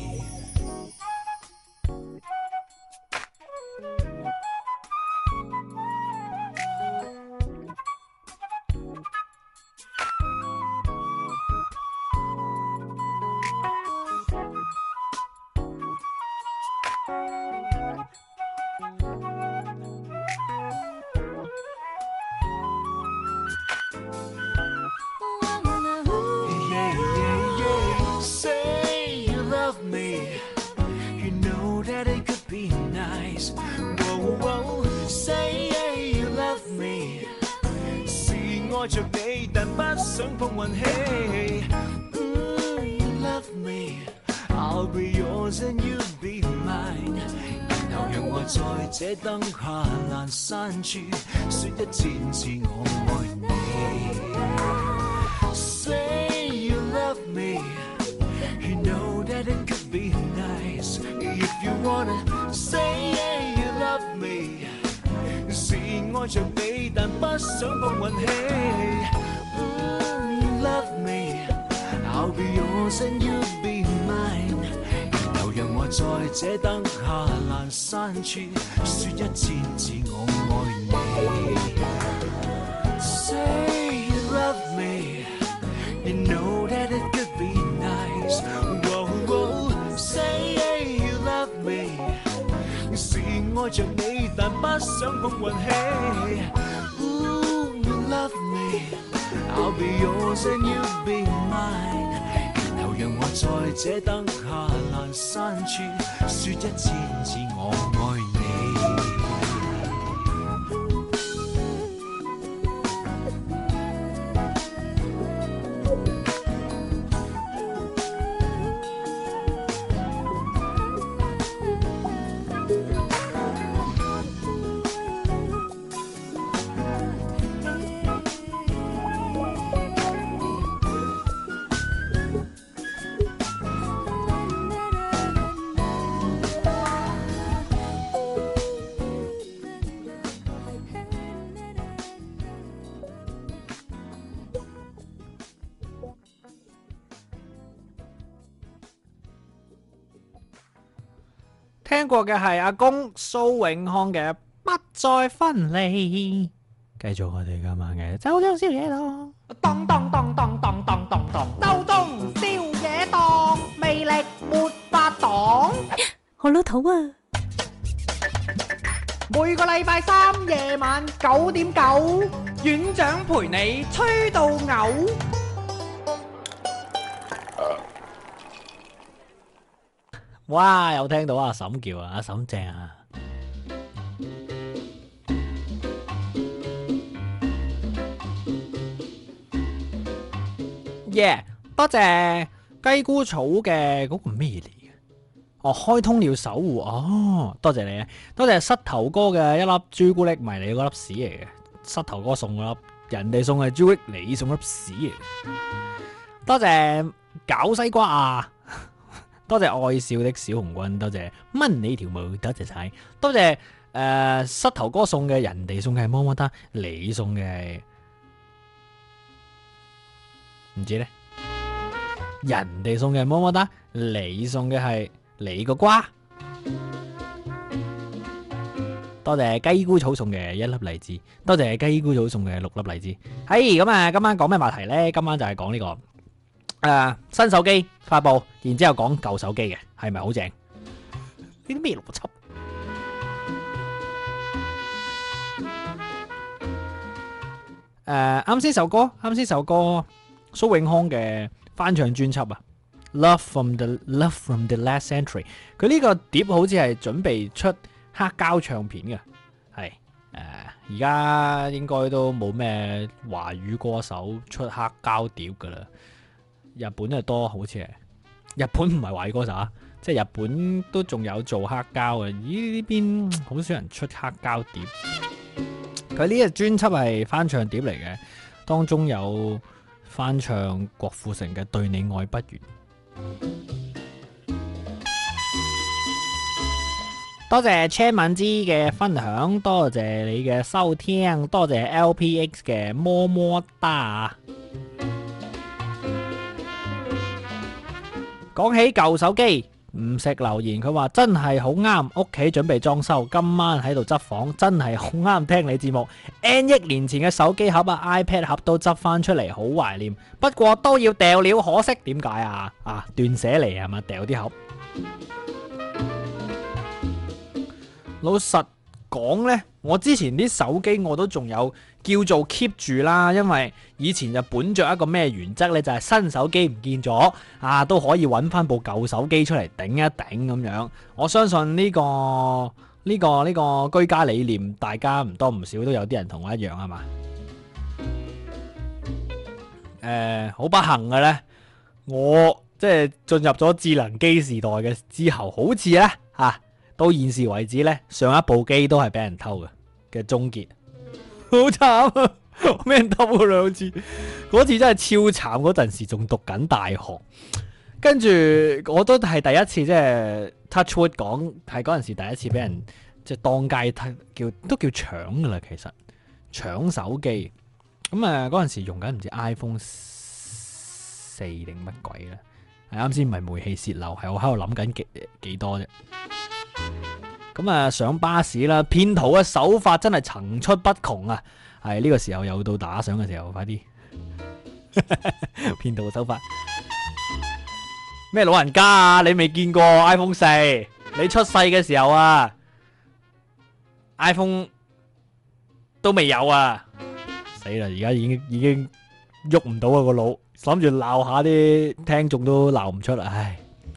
愛着你，但不想碰運氣。Love me, I'll be yours and you'll be mine。然後讓我在這燈下闌珊處說一千次我愛你。Say you love me, you know that it could be nice. If you wanna say you love me。是愛着你，但不想碰運氣。Love me, I'll be yours and you'll be mine。然後讓我在這燈下闌珊處說一千次我愛你。Say you love me, you know that it could be nice. Whoa, whoa, say you love me。是愛着你，但不想碰運氣。Love me, I'll be yours and you'll be mine。然後讓我在這燈下闌珊處說一千次我愛你。 聽過嘅係阿公蘇永康嘅《不再分離》，繼續我哋今晚嘅周中宵夜檔。 當當當當當當當當，周中宵夜檔，魅力沒法擋。 好老土啊！ 每個禮拜三夜晚9:9，院長陪你吹到嘔。 哇！有聽到阿嬸叫啊，阿嬸正啊！耶！多謝雞菇草嘅嗰個咩嚟嘅？哦，開通了守護哦，多謝你啊！多謝膝頭哥嘅一粒朱古力迷你嗰粒屎嚟嘅，膝頭哥送嗰粒，人哋送嘅朱古力，你送粒屎嚟。多謝搞西瓜啊！多謝愛笑的小紅軍，多謝掹你條毛，多謝晒，多謝膝頭哥送嘅，人哋送嘅係麼麼噠，你送嘅係唔知咧，人哋送嘅係麼麼噠，你送嘅係你個瓜， 多謝雞菇草送嘅1粒荔枝，多謝雞菇草送嘅6粒荔枝。係咁啊，今晚講咩話題呢？今晚就係講呢個新手機發布，然之後講舊手機嘅係咪好正？呢啲咩邏輯？啱先首歌蘇永康嘅翻唱專輯啊，Love from the Last Century。佢呢個碟好似係準備出黑膠唱片嘅，係而家應該都冇咩華語歌手出黑膠碟噶啦。日本就多，好似係日本唔係華語歌手啊，即係日本都仲有做黑膠嘅。咦，呢邊好少人出黑膠碟。佢呢個專輯係翻唱碟嚟嘅，當中有翻唱郭富城嘅《對你愛不完》。多謝車敏之嘅分享，多謝你嘅收聽，多謝 LPX 嘅麼麼噠。講起舊手機，唔食留言，佢話真係好啱，屋企準備裝修，今晚喺度執房，真係好啱聽你節目。N 億年前嘅手機盒啊、iPad 盒都執翻出嚟，好懷念。不過都要掉了，可惜點解啊？斷捨離係嘛，掉啲盒。老實講呢，我之前啲手機我都仲有叫做 keep 住啦，因為以前就本着一個咩原則呢，就係新手機唔見咗都可以揾翻部舊手機出嚟頂一頂咁樣。我相信呢個居家理念，大家唔多唔少都有啲人同我一樣係嘛？好不幸嘅呢，我即係進入咗智能機時代嘅之後，好似呢。到現時為止呢，上一部機都係俾人偷嘅終結，好慘啊！俾人偷咗2次，嗰次真係超慘。嗰陣時仲讀緊大學，跟住我都係第一次，即係 touch wood 講，係嗰陣時第一次俾人即係當街都叫搶噶啦。其實搶手機咁嗰陣時用緊唔知 iPhone 4定乜鬼咧？係啱先唔係煤氣泄漏，係我喺度諗緊幾多啫。咁上巴士啦，騙徒嘅手法真係層出不窮啊！係呢個時候又到打賞嘅時候，快啲騙徒嘅手法咩老人家啊？你未見過 iPhone 4？你出世嘅時候iPhone 都未有啊！死啦！而家已經喐唔到啊個腦，諗住鬧下啲聽眾都鬧唔出啦，唉！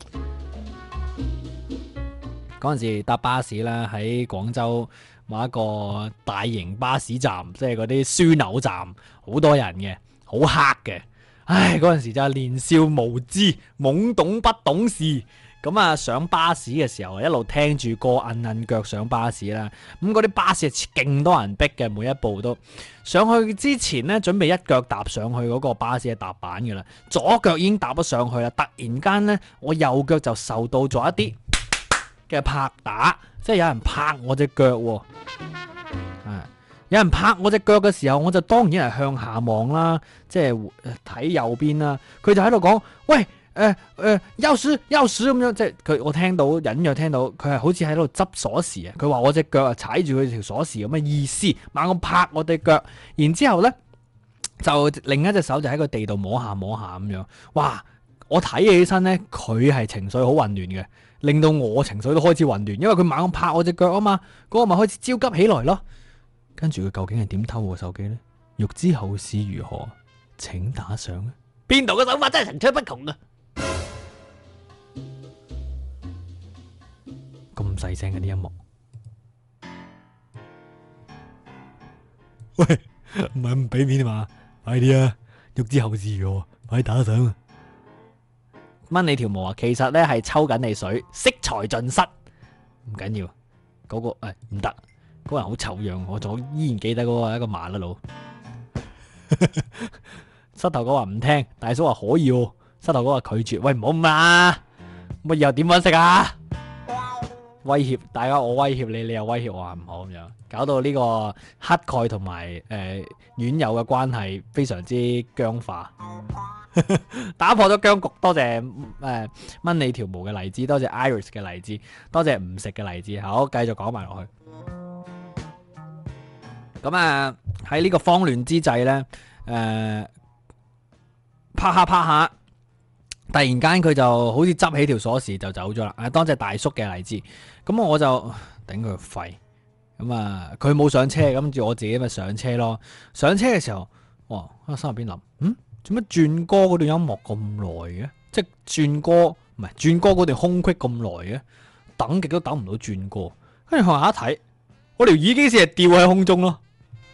嗰陣時搭巴士啦，喺廣州某一個大型巴士站，即係嗰啲樞紐站，好多人嘅，好黑嘅。唉，嗰陣時就係年少無知、懵懂不懂事。咁上巴士嘅時候，一路聽住歌，摁腳上巴士啦。咁嗰啲巴士係勁多人逼嘅，每一步都上去之前呢，準備一腳踏上去嗰個巴士嘅踏板㗎啦，左腳已經踏咗上去啦。突然間呢，我右腳就受到咗一啲嘅拍打，即係有人拍我隻腳喎。有人拍我隻腳嘅時候，我就當然係向下望啦，即係睇右邊啦。佢就喺度講：喂，鑰匙咁樣，即係佢我聽到隱約聽到佢係好似喺度執鎖匙啊。佢話我隻腳踩住佢條鎖匙咁嘅意思，猛咁拍我隻腳。然之後呢，就另一隻手就喺個地度摸下咁樣。哇！我睇起身呢，佢係情緒好混亂嘅，令到我情緒都開始混亂，因為佢猛咁拍我隻腳啊嘛，嗰個咪開始焦急起來咯。跟住佢究竟係點偷我手機呢？欲知後事如何，請打賞啊！邊度嘅手法真係層出不窮啊！咁細聲嘅啲音樂，喂，唔係唔俾面啊嘛？快啲啊！欲知後事如何，快啲打賞啊！掹你條毛啊！其實咧係抽緊你水，色彩盡失，唔緊要。嗰個唔得。嗰個人好醜樣，我仲依然記得嗰個一個麻甩佬。膝頭哥話唔聽，大叔話可以喎。膝頭哥話拒絕，喂唔好咁啦，咁以後點搵食啊？ 威脅大家，我威脅你，你又威脅我，唔好咁樣，搞到呢個乞丐同埋院友嘅關係非常之僵化，打破咗僵局。多謝掹你條毛嘅荔枝，多謝 Iris 嘅荔枝，多謝唔食嘅荔枝。好，繼續講埋落去。咁啊喺呢個慌亂之際呢，拍下。突然間佢就好似執起條鎖匙就走咗啦。多謝大叔嘅荔枝。咁我就頂佢個肺。咁啊，佢冇上車，跟住我自己咪上車咯。上車嘅時候，哇！喺心入邊諗，做乜轉歌嗰段音樂咁耐嘅？即係轉歌唔係轉歌嗰段空隙咁耐嘅，等極都等唔到轉歌。跟住向下一睇，我條耳機線係吊喺空中咯。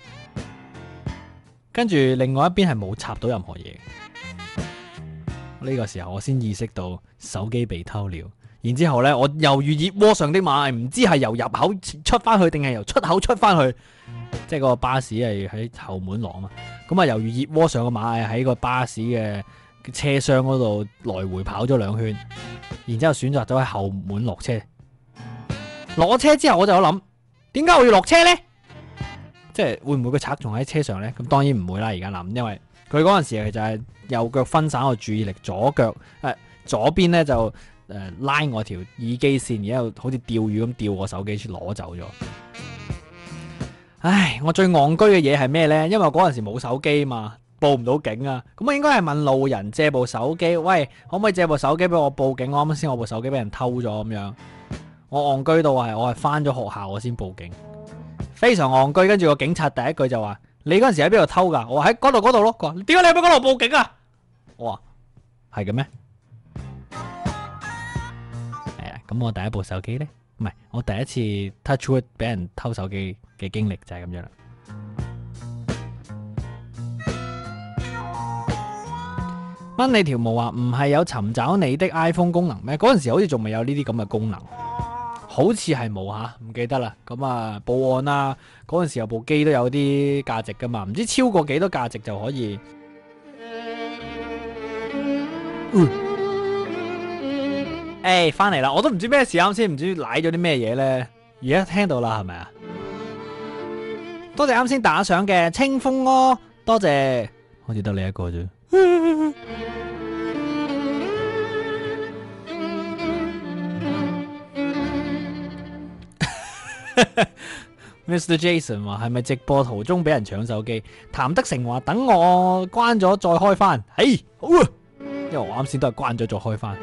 跟住另外一邊係冇插到任何嘢。呢個時候我先意識到手機被偷了，然之後呢，我猶如熱鍋上的螞蟻，唔知係由入口出翻去定係由出口出翻去，即係個巴士係喺後門落嘛，咁啊猶如熱鍋上嘅螞蟻喺個巴士嘅車廂嗰度來回跑咗2圈，然之後選擇咗喺後門落車。落車之後我就有諗，點解我要落車呢？即係會唔會個賊仲喺車上呢？咁當然唔會啦，而家諗，因為佢嗰陣時就係右腳分散我注意力，左邊咧就拉我條耳機線，然後好似釣魚咁釣我手機攞走咗。唉，我最戇居嘅嘢係咩呢？因為嗰陣時冇手機嘛，報唔到警啊。咁我應該係問路人借部手機，喂，可唔可以借部手機俾我報警？我啱先我部手機俾人偷咗咁樣。我戇居到我係翻咗學校我先報警，非常戇居。跟住個警察第一句就話：你嗰陣時喺邊度偷噶？我話喺嗰度咯。佢話：點解你喺嗰度報警啊？我話係嘅咩？係啊，咁我第一部手機呢？唔係我第一次 touchwood 俾人偷手機嘅經歷就係咁樣啦。掹你條毛話唔係有尋找你的 iPhone 功能咩？嗰陣時好似仲未有呢啲咁嘅功能，好似係冇吓，唔記得啦。咁啊報案啦，嗰陣時有部機都有啲價值噶嘛，唔知超過幾多價值就可以。翻嚟啦！我都唔知咩事，啱先唔知舐咗啲咩嘢呢。而家聽到啦，係咪啊？多謝啱先打賞嘅清風哦，多謝，好似得你一個啫。Mr. Jason 話係咪直播途中俾人搶手機？譚德成話等我關咗再開翻。好啊，因為我啱先都係關咗再開翻。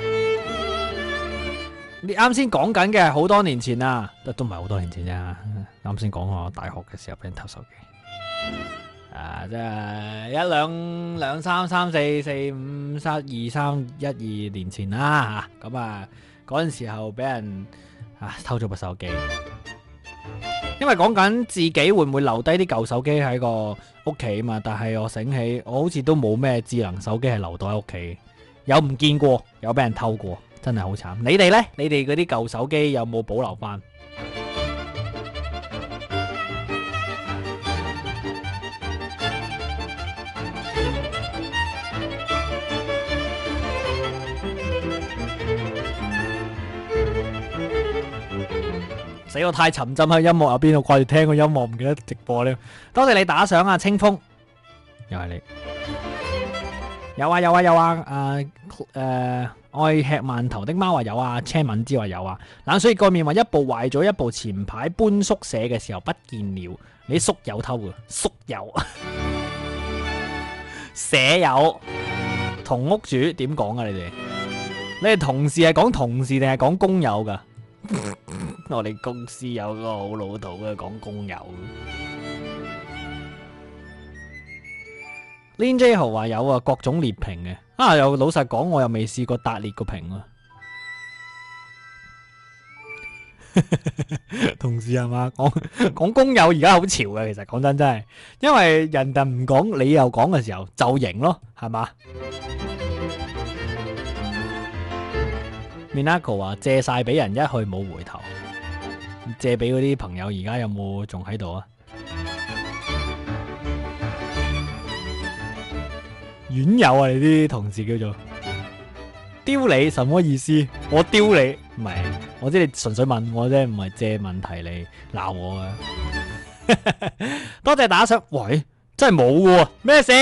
你啱先講緊嘅係好多年前啊，都唔係好多年前啫。啱先講我大學嘅時候俾人偷手機，即係兩三四五2-3-1-2年前啦吓。咁嗰陣時候俾人偷咗部手機，因為講緊自己會唔會留低啲舊手機喺個屋企嘛。但係我醒起，我好似都冇咩智能手機係留到喺屋企，有唔見過，有俾人偷過。真係好慘，你哋呢？你哋嗰啲舊手機有冇保留翻？死我太沉浸喺音樂入邊，我掛住聽個音樂，唔記得直播呢。多謝你打賞啊，清風，又係你。有啊，愛吃饅頭的貓話有啊，車敏之話有啊，冷水蓋面話一部壞咗，一部前排搬宿舍嘅時候不見了，你宿友偷嘅，宿友舍友同屋主點講啊？你哋同事係講同事定係講工友噶？我哋公司有個好老土嘅講工友。Lin J 豪話有啊，各種列評嘅。又老實講，我又未試過達列個評啊。同事係嘛？講工友而家好潮嘅，其實講真係，因為人哋唔講，你又講嘅時候就型咯，係嘛？Minako 話借晒俾人，一去冇回頭。借俾嗰啲朋友，而家有冇仲喺度啊？院友啊，你啲同事叫做丟你什麼意思？我丟你唔係，我知你純粹問我啫，唔係借問題嚟鬧我啊！多謝打賞，喂，真係冇喎，咩事？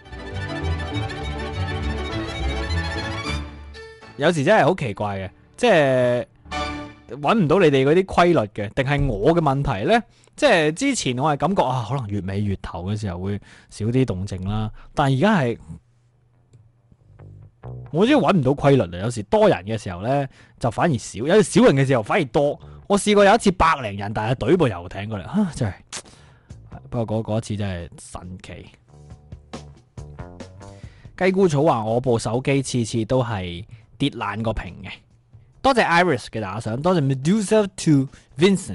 有時真係好奇怪嘅，即係揾唔到你哋嗰啲規律嘅，定係我嘅問題呢？即係之前我係感覺可能月尾月頭嘅時候會少啲動靜啦，但係而家係我真係揾唔到規律啊！有時多人嘅時候呢，就反而少，有時少人嘅時候反而多。我試過有一次100零人，但係懟部遊艇過嚟，真係。不過嗰次真係神奇。雞菇草話我部手機次次都係跌爛個屏嘅。多謝 Iris 嘅打賞，多謝 Medusa to Vincent。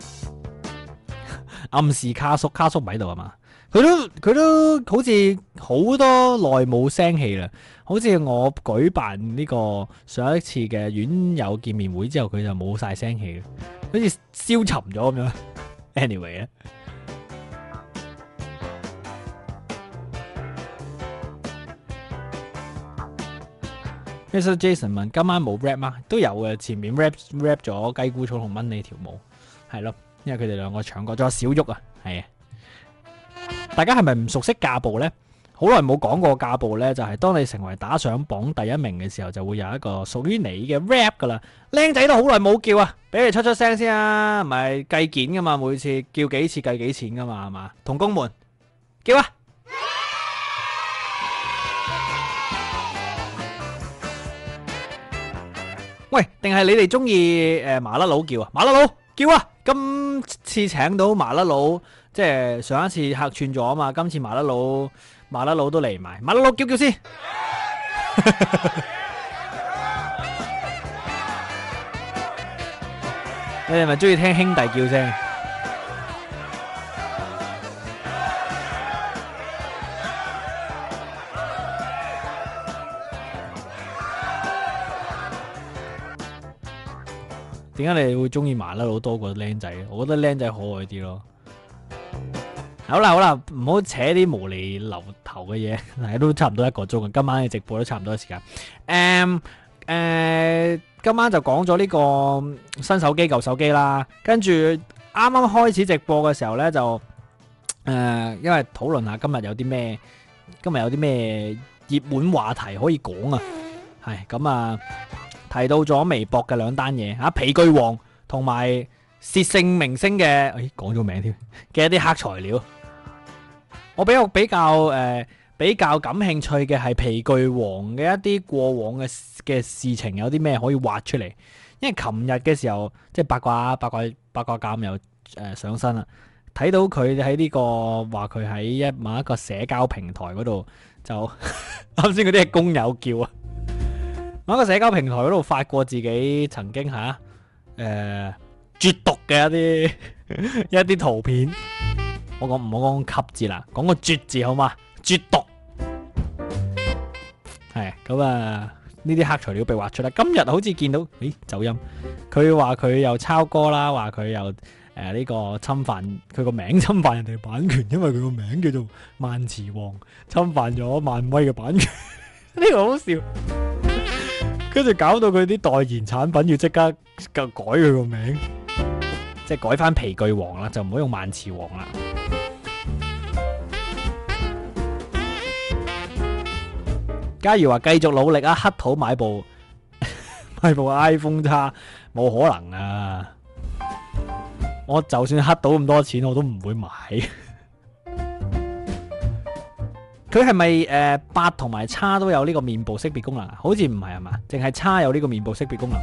暗示卡叔唔喺度啊嘛？佢都好似好多耐冇聲氣啦。好似我舉辦呢個上一次嘅院友見面會之後，佢就冇晒聲氣，好似消沉咗咁樣。Anyway 啊。Mr. Jason 問今晚冇 rap 嗎？都有嘅，前面 rap 咗雞菇草同蚊你條舞，係咯，因為佢哋兩個唱過，仲有小玉啊，係啊。大家係咪唔熟悉架步呢？好耐冇講過架步呢，就係當你成為打賞榜第一名嘅時候，就會有一個屬於你嘅 rap 噶啦。靚仔都好耐冇叫啊，俾你出聲先啊，唔係計件噶嘛，每次叫幾次計幾錢噶嘛，係嘛？同工們叫啊！喂，定係你哋中意麻甩佬叫啊？麻甩佬叫啊！今次請到麻甩佬，即係上一次客串咗啊嘛，今次麻甩佬都嚟埋，麻甩佬叫先。你哋咪中意聽兄弟叫聲？點解你會中意麻甩佬多過僆仔？我覺得僆仔可愛啲咯。好啦，唔好扯啲無厘流頭嘅嘢，係都差唔多1個鐘。今晚嘅直播都差唔多時間。今晚就講咗呢個新手機舊手機啦。跟住啱啱開始直播嘅時候呢，就因為討論下今日有啲咩熱門話題可以講啊。係咁啊。提到咗微博嘅2單嘢啊，皮具王同埋薛姓明星嘅，講咗名添嘅一啲黑材料。我比較感興趣嘅係皮具王嘅一啲過往嘅事情，有啲咩可以挖出嚟？因為琴日嘅時候，即係八卦鑑又上身啦，睇到佢喺呢個話佢喺某一個社交平台嗰度就啱先嗰啲係工友叫啊。某一個社交平台嗰度發過自己曾經絕毒嘅一啲圖片，我唔好講吸字啦，講個絕字好嘛？絕毒係咁啊！呢啲黑材料被挖出啦。今日好似見到，走音，佢話佢又抄歌啦，話佢又呢個侵犯佢個名，侵犯人哋版權，因為佢個名叫做萬磁王，侵犯咗漫威嘅版權，呢個好笑。跟住搞到佢啲代言產品要即刻改佢個名，即係改翻皮具王啦，就唔好用萬磁王啦。假如話繼續努力啊，乞討買部 iPhone X 冇可能啊！我就算乞到咁多錢，我都唔會買。佢係咪8同埋X都有呢個面部識別功能啊？好似唔係嘛，淨係X有呢個面部識別功能。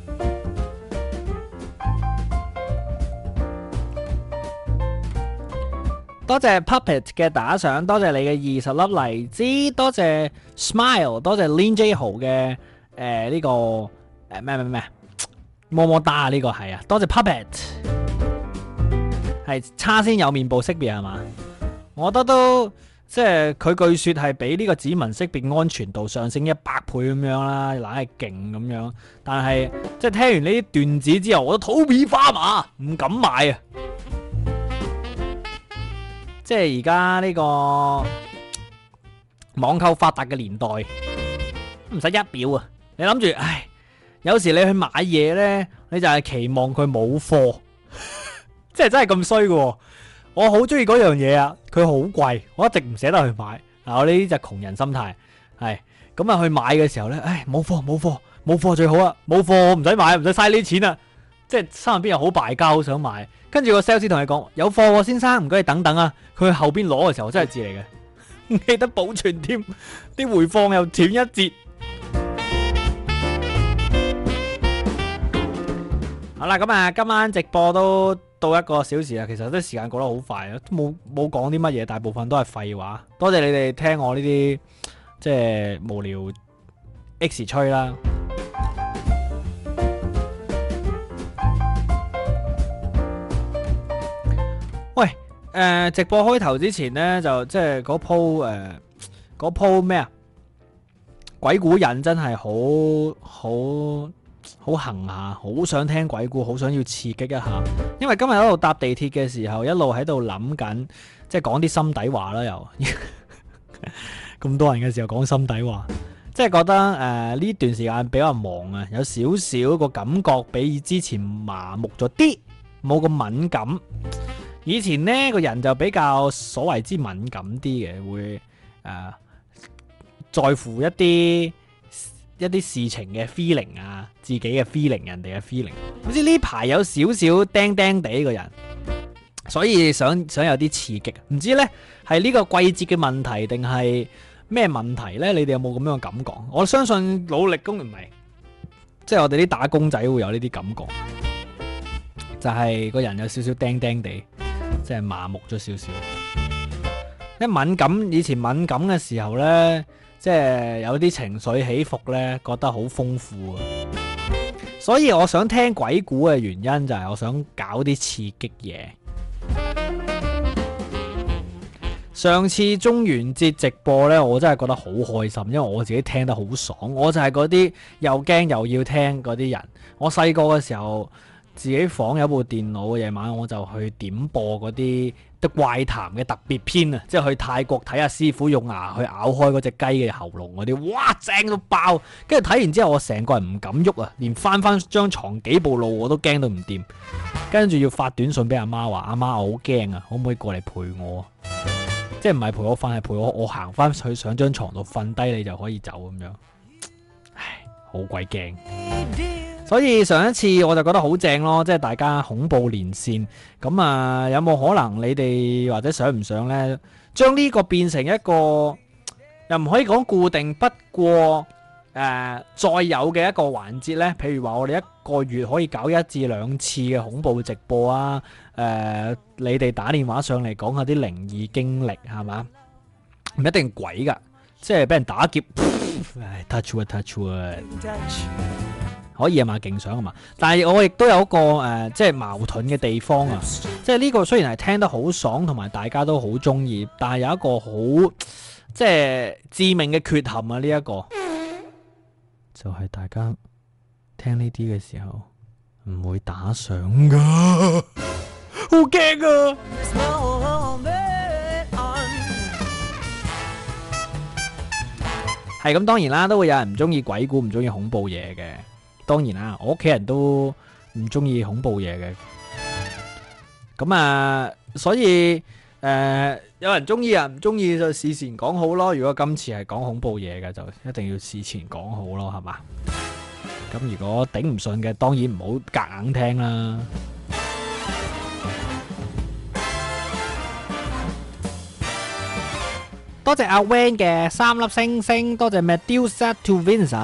多謝 Puppet 嘅打賞，多謝你嘅20粒荔枝，多謝 Smile， 多謝 Lin J 豪嘅呢個咩麼麼噠呢個係啊，多謝 Puppet， 係X先有面部識別係嘛？我覺得都。即係佢據說係比呢個指紋識別安全度上升100倍咁樣啦，懶係勁咁樣。但係即係聽完呢啲段子之後，我都肚皮發麻，唔敢買啊！即係而家呢個網購發達嘅年代，唔使一秒啊， 你諗住，唉，有時你去買嘢呢，你就係期望佢冇貨，即係真係咁衰嘅。我好中意嗰樣嘢啊，佢好貴，我一直唔捨得去買。嗱，我呢啲就窮人心態，係咁啊，去買嘅時候呢，唉，冇貨最好啊，冇貨我唔使買，唔使嘥呢啲錢啊，即係心入邊又好敗家，好想買。跟住個 sales 同你講有貨喎，先生，唔該你等等啊。佢去後邊攞嘅時候真係字嚟嘅，唔記得保存添，啲回放又斷一截。好啦，咁啊，今晚直播都到1個小時啦，其實啲時間過得好快啊，都冇講啲乜嘢，大部分都係廢話。多謝你哋聽我呢啲即係無聊 X 吹啦。喂，直播開頭之前呢，就即係嗰鋪咩啊？鬼故癮真係好行下，好想聽鬼故，好想要刺激一下。因為今日喺度搭地鐵嘅時候，一路喺度諗緊，即係講啲心底話啦，又咁多人嘅時候講心底話，即係覺得呢段時間比較忙啊，有少少個感覺比之前麻木咗啲，冇咁敏感。以前呢個人就比較所謂之敏感啲嘅，會在乎一啲事情嘅 feeling 啊，自己嘅 feeling， 人哋嘅 feeling。好似呢排有少少釘釘地個人，所以想有啲刺激。唔知呢係呢個季節嘅問題定係咩問題呢？你哋有冇咁樣嘅感覺？我相信努力工唔係，即係我哋啲打工仔會有呢啲感覺，就係個人有少少釘釘地。即係麻木咗少少，一敏感，以前敏感嘅時候呢，即係有啲情緒起伏呢，覺得好豐富啊。所以我想聽鬼故嘅原因就係我想搞啲刺激嘢。上次中元節直播呢，我真係覺得好開心，因為我自己聽得好爽。我就係嗰啲又驚又要聽嗰啲人。我細個嘅時候，自己房有部電腦，夜晚我就去點播嗰啲怪談嘅特別篇啊！即係去泰國睇下師傅用牙去咬開嗰隻雞嘅喉嚨嗰啲，哇正到爆！跟住睇完之後，我成個人唔敢喐啊，連翻張床幾步路我都驚到唔掂。跟住要發短信俾阿媽話：阿媽我好驚啊，可唔可以過嚟陪我？即係唔係陪我瞓，係陪我行翻去上張床度瞓低，你就可以走咁樣。唉，好鬼驚！所以上一次我就覺得好正咯，即係大家恐怖連線咁啊，有冇可能你哋或者想唔想呢？將呢個變成一個又唔可以講固定，不過再有嘅一個環節呢？譬如話我哋一個月可以搞1至2次嘅恐怖直播啊！你哋打電話上嚟講下啲靈異經歷係嘛？唔一定鬼噶，即係俾人打劫，touch wood。可以啊嘛，勁想啊嘛，但係我亦都有一個即係矛盾嘅地方啊，即係呢個雖然係聽得好爽，同埋大家都好中意，但係有一個好即係致命嘅缺陷啊，呢一個就係大家聽呢啲嘅時候唔會打賞噶，好驚啊！係咁，當然啦，都會有人唔中意鬼故，唔中意恐怖嘢嘅。當然啦，我屋企人都唔中意恐怖嘢嘅，咁啊，所以有人中意啊，唔中意就事前講好咯。如果今次係講恐怖嘢嘅，就一定要事前講好咯，係嘛？咁如果頂唔順嘅，當然唔好夾硬聽啦。多謝阿 Van 嘅3粒星星，多謝 Medusa to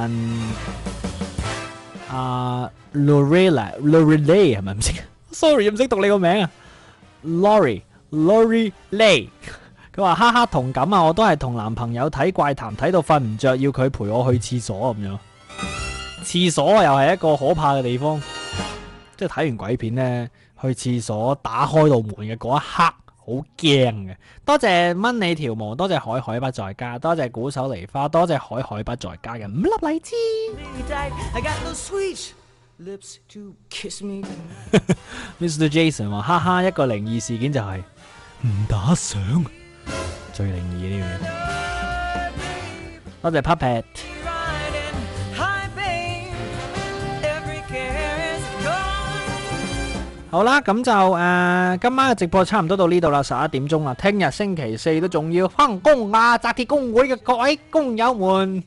Vincent。Lorelei 係咪唔識 ？Sorry 唔識讀你個名啊 Lori Lay。佢話哈哈同感啊，我都係同男朋友睇怪談睇到瞓唔着，要佢陪我去廁所咁樣。廁所又係一個可怕嘅地方，即係睇完鬼片呢，去廁所打開道門嘅嗰一刻好驚嘅。多謝蚊你條毛，多謝海海不在家，多謝鼓手梨花，多謝海海不在家嘅5粒荔枝。Mr. Jason 話：哈哈，一個靈異事件就係唔打賞，最靈異呢樣嘢。多謝 Puppet。 好啦，咁就今晚嘅直播差唔多到呢度啦，11點鐘啦。聽日星期四都仲要翻工啊！紮鐵工會嘅各位工友們，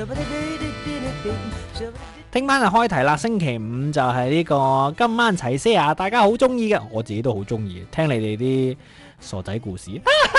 聽晚就開題啦。星期五就係呢個今晚齊些牙，大家好中意嘅，我自己都好中意，聽你哋啲傻仔故事。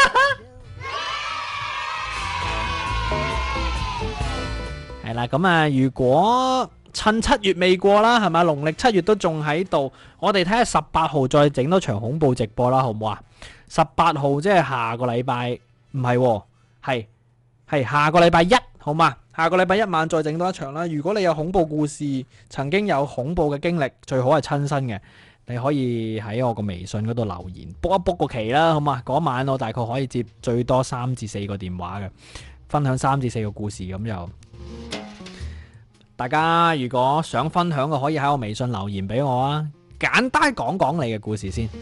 係啦，咁啊，如果趁7月未過啦，係咪？農曆7月都仲喺度，我哋睇下18號再整多場恐怖直播啦，好唔好啊？18號即係下個禮拜，唔係，係下個禮拜一，好嘛？下個禮拜一晚再整多一場啦。如果你有恐怖故事，曾經有恐怖嘅經歷，最好係親身嘅，你可以喺我個微信嗰度留言，book 一 book 個期啦，好嘛？嗰晚我大概可以接最多3至4個電話嘅，分享3至4個故事咁就。大家如果想分享嘅，可以喺我微信留言俾我啊！簡單講講你嘅故事先。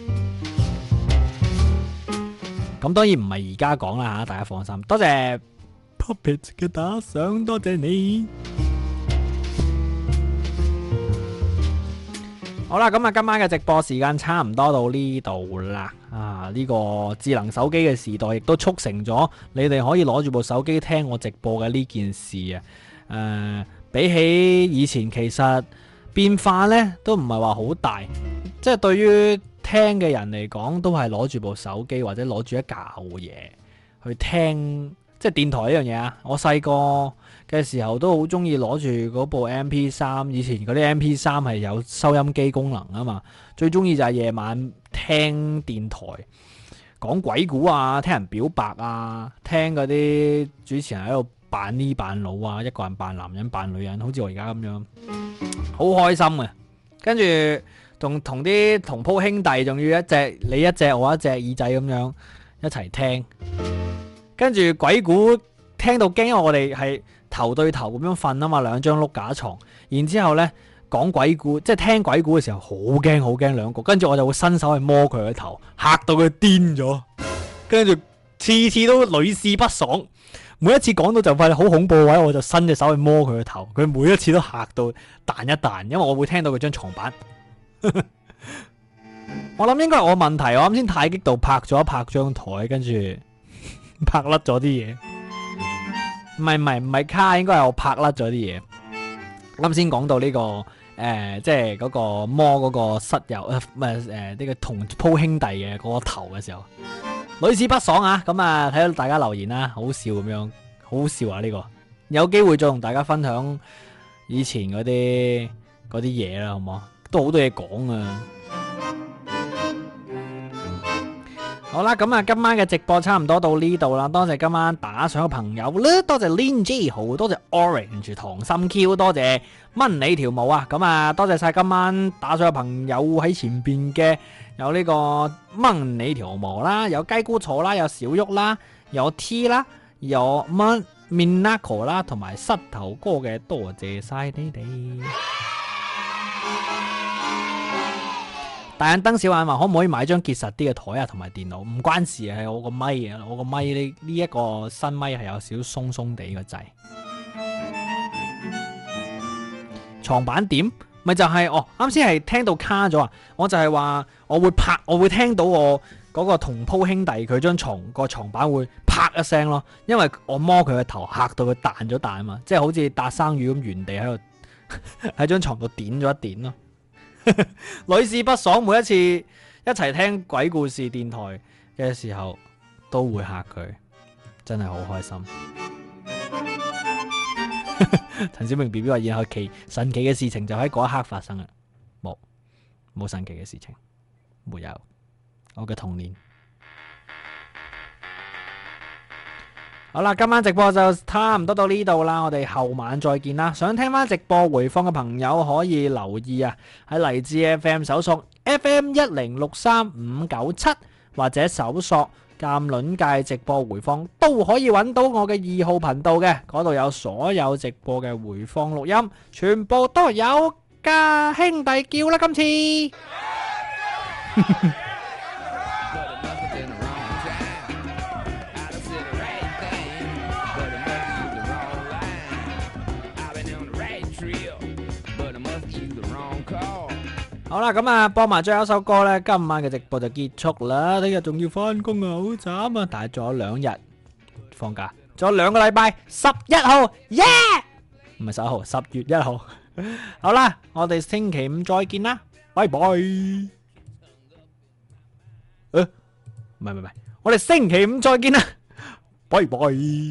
咁當然唔係而家講啦吓，大家放心。多謝 Puppet 嘅打賞，多謝你。好啦，咁啊，今晚嘅直播時間差唔多到呢度啦。呢個智能手機嘅時代，亦都促成咗你哋可以攞住部手機聽我直播嘅呢件事啊。比起以前，其實變化呢都唔係話好大，即係對於聽嘅人嚟講，都係攞住部手機或者攞住一嚿嘢去聽，即係電台呢樣嘢啊！我細個嘅時候都好中意攞住嗰部 MP3，以前嗰啲 MP3 係有收音機功能啊嘛，最中意就係夜晚聽電台講鬼故啊，聽人表白啊，聽嗰啲主持人喺度扮呢扮老啊，一個人扮男人扮女人，好似我而家咁樣，好開心啊！跟住同啲同鋪兄弟，仲要你一隻我一隻耳仔咁樣一齊聽，跟住鬼故聽到驚，因為我哋係頭對頭咁樣瞓啊嘛，兩張碌架床，然之後呢講鬼故，即係聽鬼故嘅時候好驚好驚兩個，跟住我就會伸手去摸佢嘅頭，嚇到佢癲咗，跟住次次都屢試不爽。每一次講到就快好恐怖嘅位，我就伸隻手去摸佢個頭，佢每一次都嚇到彈一彈，因為我會聽到佢張床板。我諗應該係我問題，我啱先太激動拍咗一拍張台，跟住拍甩咗啲嘢。唔係卡，應該係我拍甩咗啲嘢。啱先講到呢個即係嗰個摸嗰個室友呢個同鋪兄弟嘅嗰個頭嘅時候。屢試不爽啊！咁啊，睇到大家留言啦，好笑咁樣，好笑啊！呢個有機會再同大家分享以前嗰啲嘢啦，好唔好？都好多嘢講啊！好啦，咁啊，今晚嘅直播差唔多到呢度啦，多謝今晚打賞嘅朋友啦，多謝 Lin J 豪，多謝 Orange 糖心 Q， 多謝蚊你條毛啊！咁啊，多謝晒今晚打賞嘅朋友喺前邊嘅。有呢個掹你條毛啦，有雞菇草啦，有小玉啦，有 T 啦，有乜 Minako 啦，同埋膝頭哥嘅，多謝晒你哋。大眼燈小眼話可唔可以買張結實啲嘅台啊，同埋電腦？唔關事，係我個咪啊，我個咪呢一個新咪係有少少鬆鬆地個掣。床板點？咪就係啱先係聽到卡咗啊！我就係話我會聽到我嗰個同鋪兄弟佢張床板會啪一聲咯，因為我摸佢個頭嚇到佢彈咗彈啊嘛，即係好似搭生魚咁原地喺度喺張床度點咗一點咯。屢試不爽，每一次一齊聽鬼故事電台嘅時候都會嚇佢，真係好開心。陳小明 B B 話，然後神奇嘅事情就喺嗰一刻發生啦，冇神奇嘅事情，沒有，我嘅童年。好啦，今晚直播就差唔多到呢度啦，我哋後晚再見啦。想聽翻直播回放嘅朋友可以留意啊，喺荔枝 FM 搜索 FM1063597，或者搜索鑑論界直播回放都可以揾到我嘅2號頻道嘅，嗰度有所有直播嘅回放錄音，全部都有㗎，兄弟叫啦今次。好好啦，咁啊，播埋最後一首歌咧，今晚嘅直播就結束啦。聽日仲要翻工啊，好慘啊！但係仲有2日放假，仲有2個禮拜，11號，耶！唔係11號，10月1號。好啦，我哋星期5再見啦，拜拜。唔係，我哋星期5再見啦，拜拜。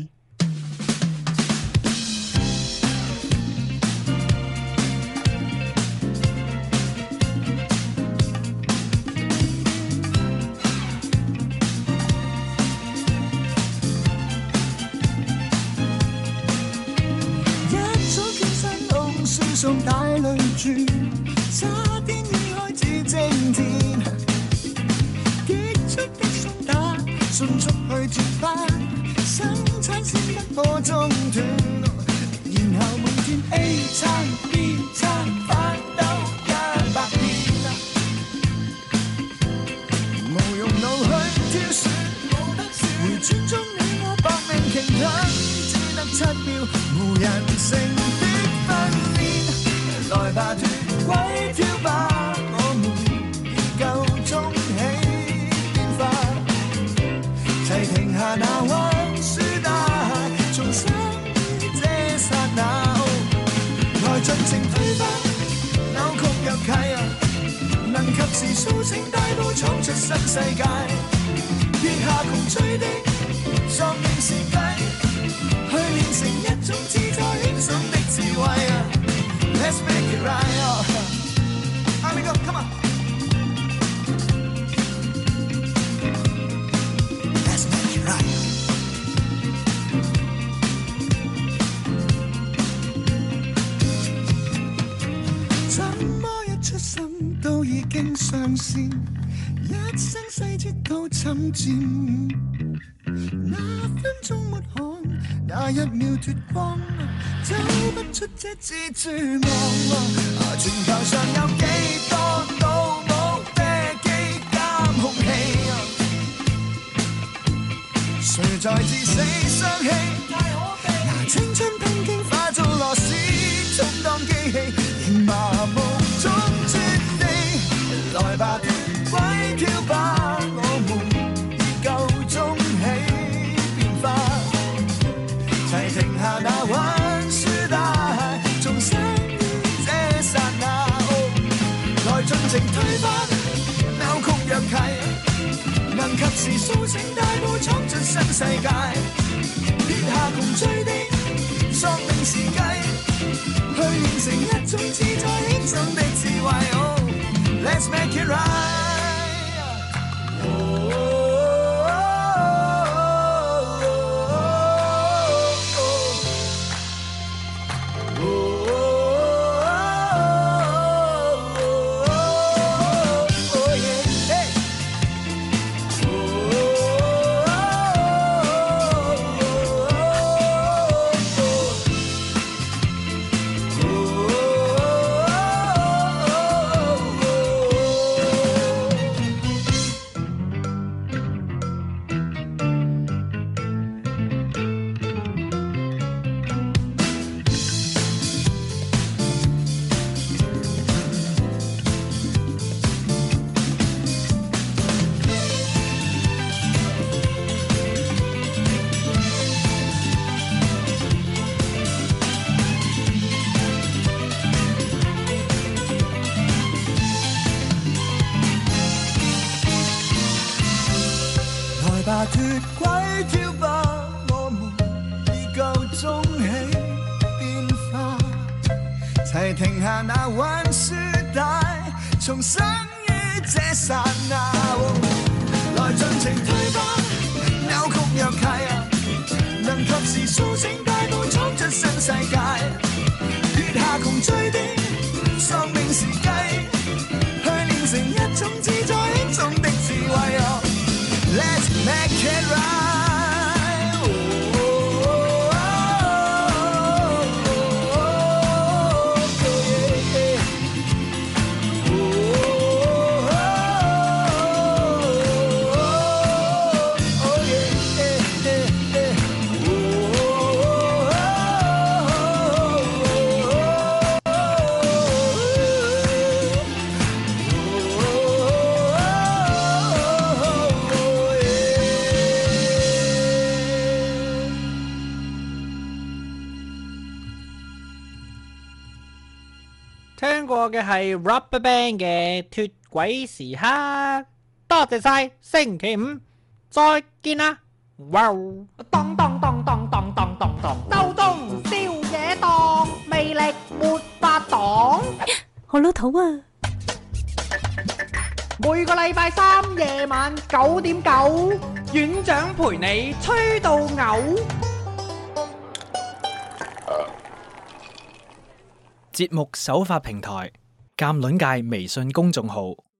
送大淚珠，差點已開始精甜，結束的送達，迅速去接返，生產線不可中斷，然後每天 A 餐 B 餐翻兜100遍，無用腦去挑選，回轉中你我搏命傾吞，只得7秒，無人性的分裂。來吧，脫軌跳吧，我們已夠鐘起變化，齊停下那彎輸帶，重生於這剎那，來盡情推翻扭曲若契，能及時甦醒大步闖出新世界，撇下窮追的喪命時計，去練成一種自在輕鬆的智慧。Let's make it right, here we go, come on. Let's make it right. 怎麼一出生都已經上線，一生細節都侵佔，那分鐘沒看，那1秒脫光，走不出這蜘蛛網。全球上有幾多倒模飛機監控器，誰在自死傷氣？拿青春拼經化做螺絲，充當機器，仍麻木中轉地，來吧，脫軌跳吧，我們已夠鐘起變化，齊停下那彎輸帶，重生於這剎那，來盡情推翻扭曲若契，能及時甦醒大步闖出新世界，撇下窮追的喪命時計，去練成一種自在輕鬆的智慧。Let's make it right.脫軌跳吧，我們已夠鐘起變化，齊停下那彎輸帶，重生於這剎那，來盡情推吧，扭曲若契，能及時甦醒大步闖出新世界，撇下窮追的喪命時計，去練成一種自在輕鬆的智慧。Let's make it right. Oh, oh, oh, yeah. Oh, yeah. 過嘅係 RubberBand 嘅脫軌時刻，多謝晒，星期五再見啦，哇！ 當當當當當當當當，周中宵夜檔，魅力沒法擋。 好老土啊！ 每個禮拜三夜晚9:9，院長陪你吹到嘔。 節目首發平台：鑑論界微信公眾號。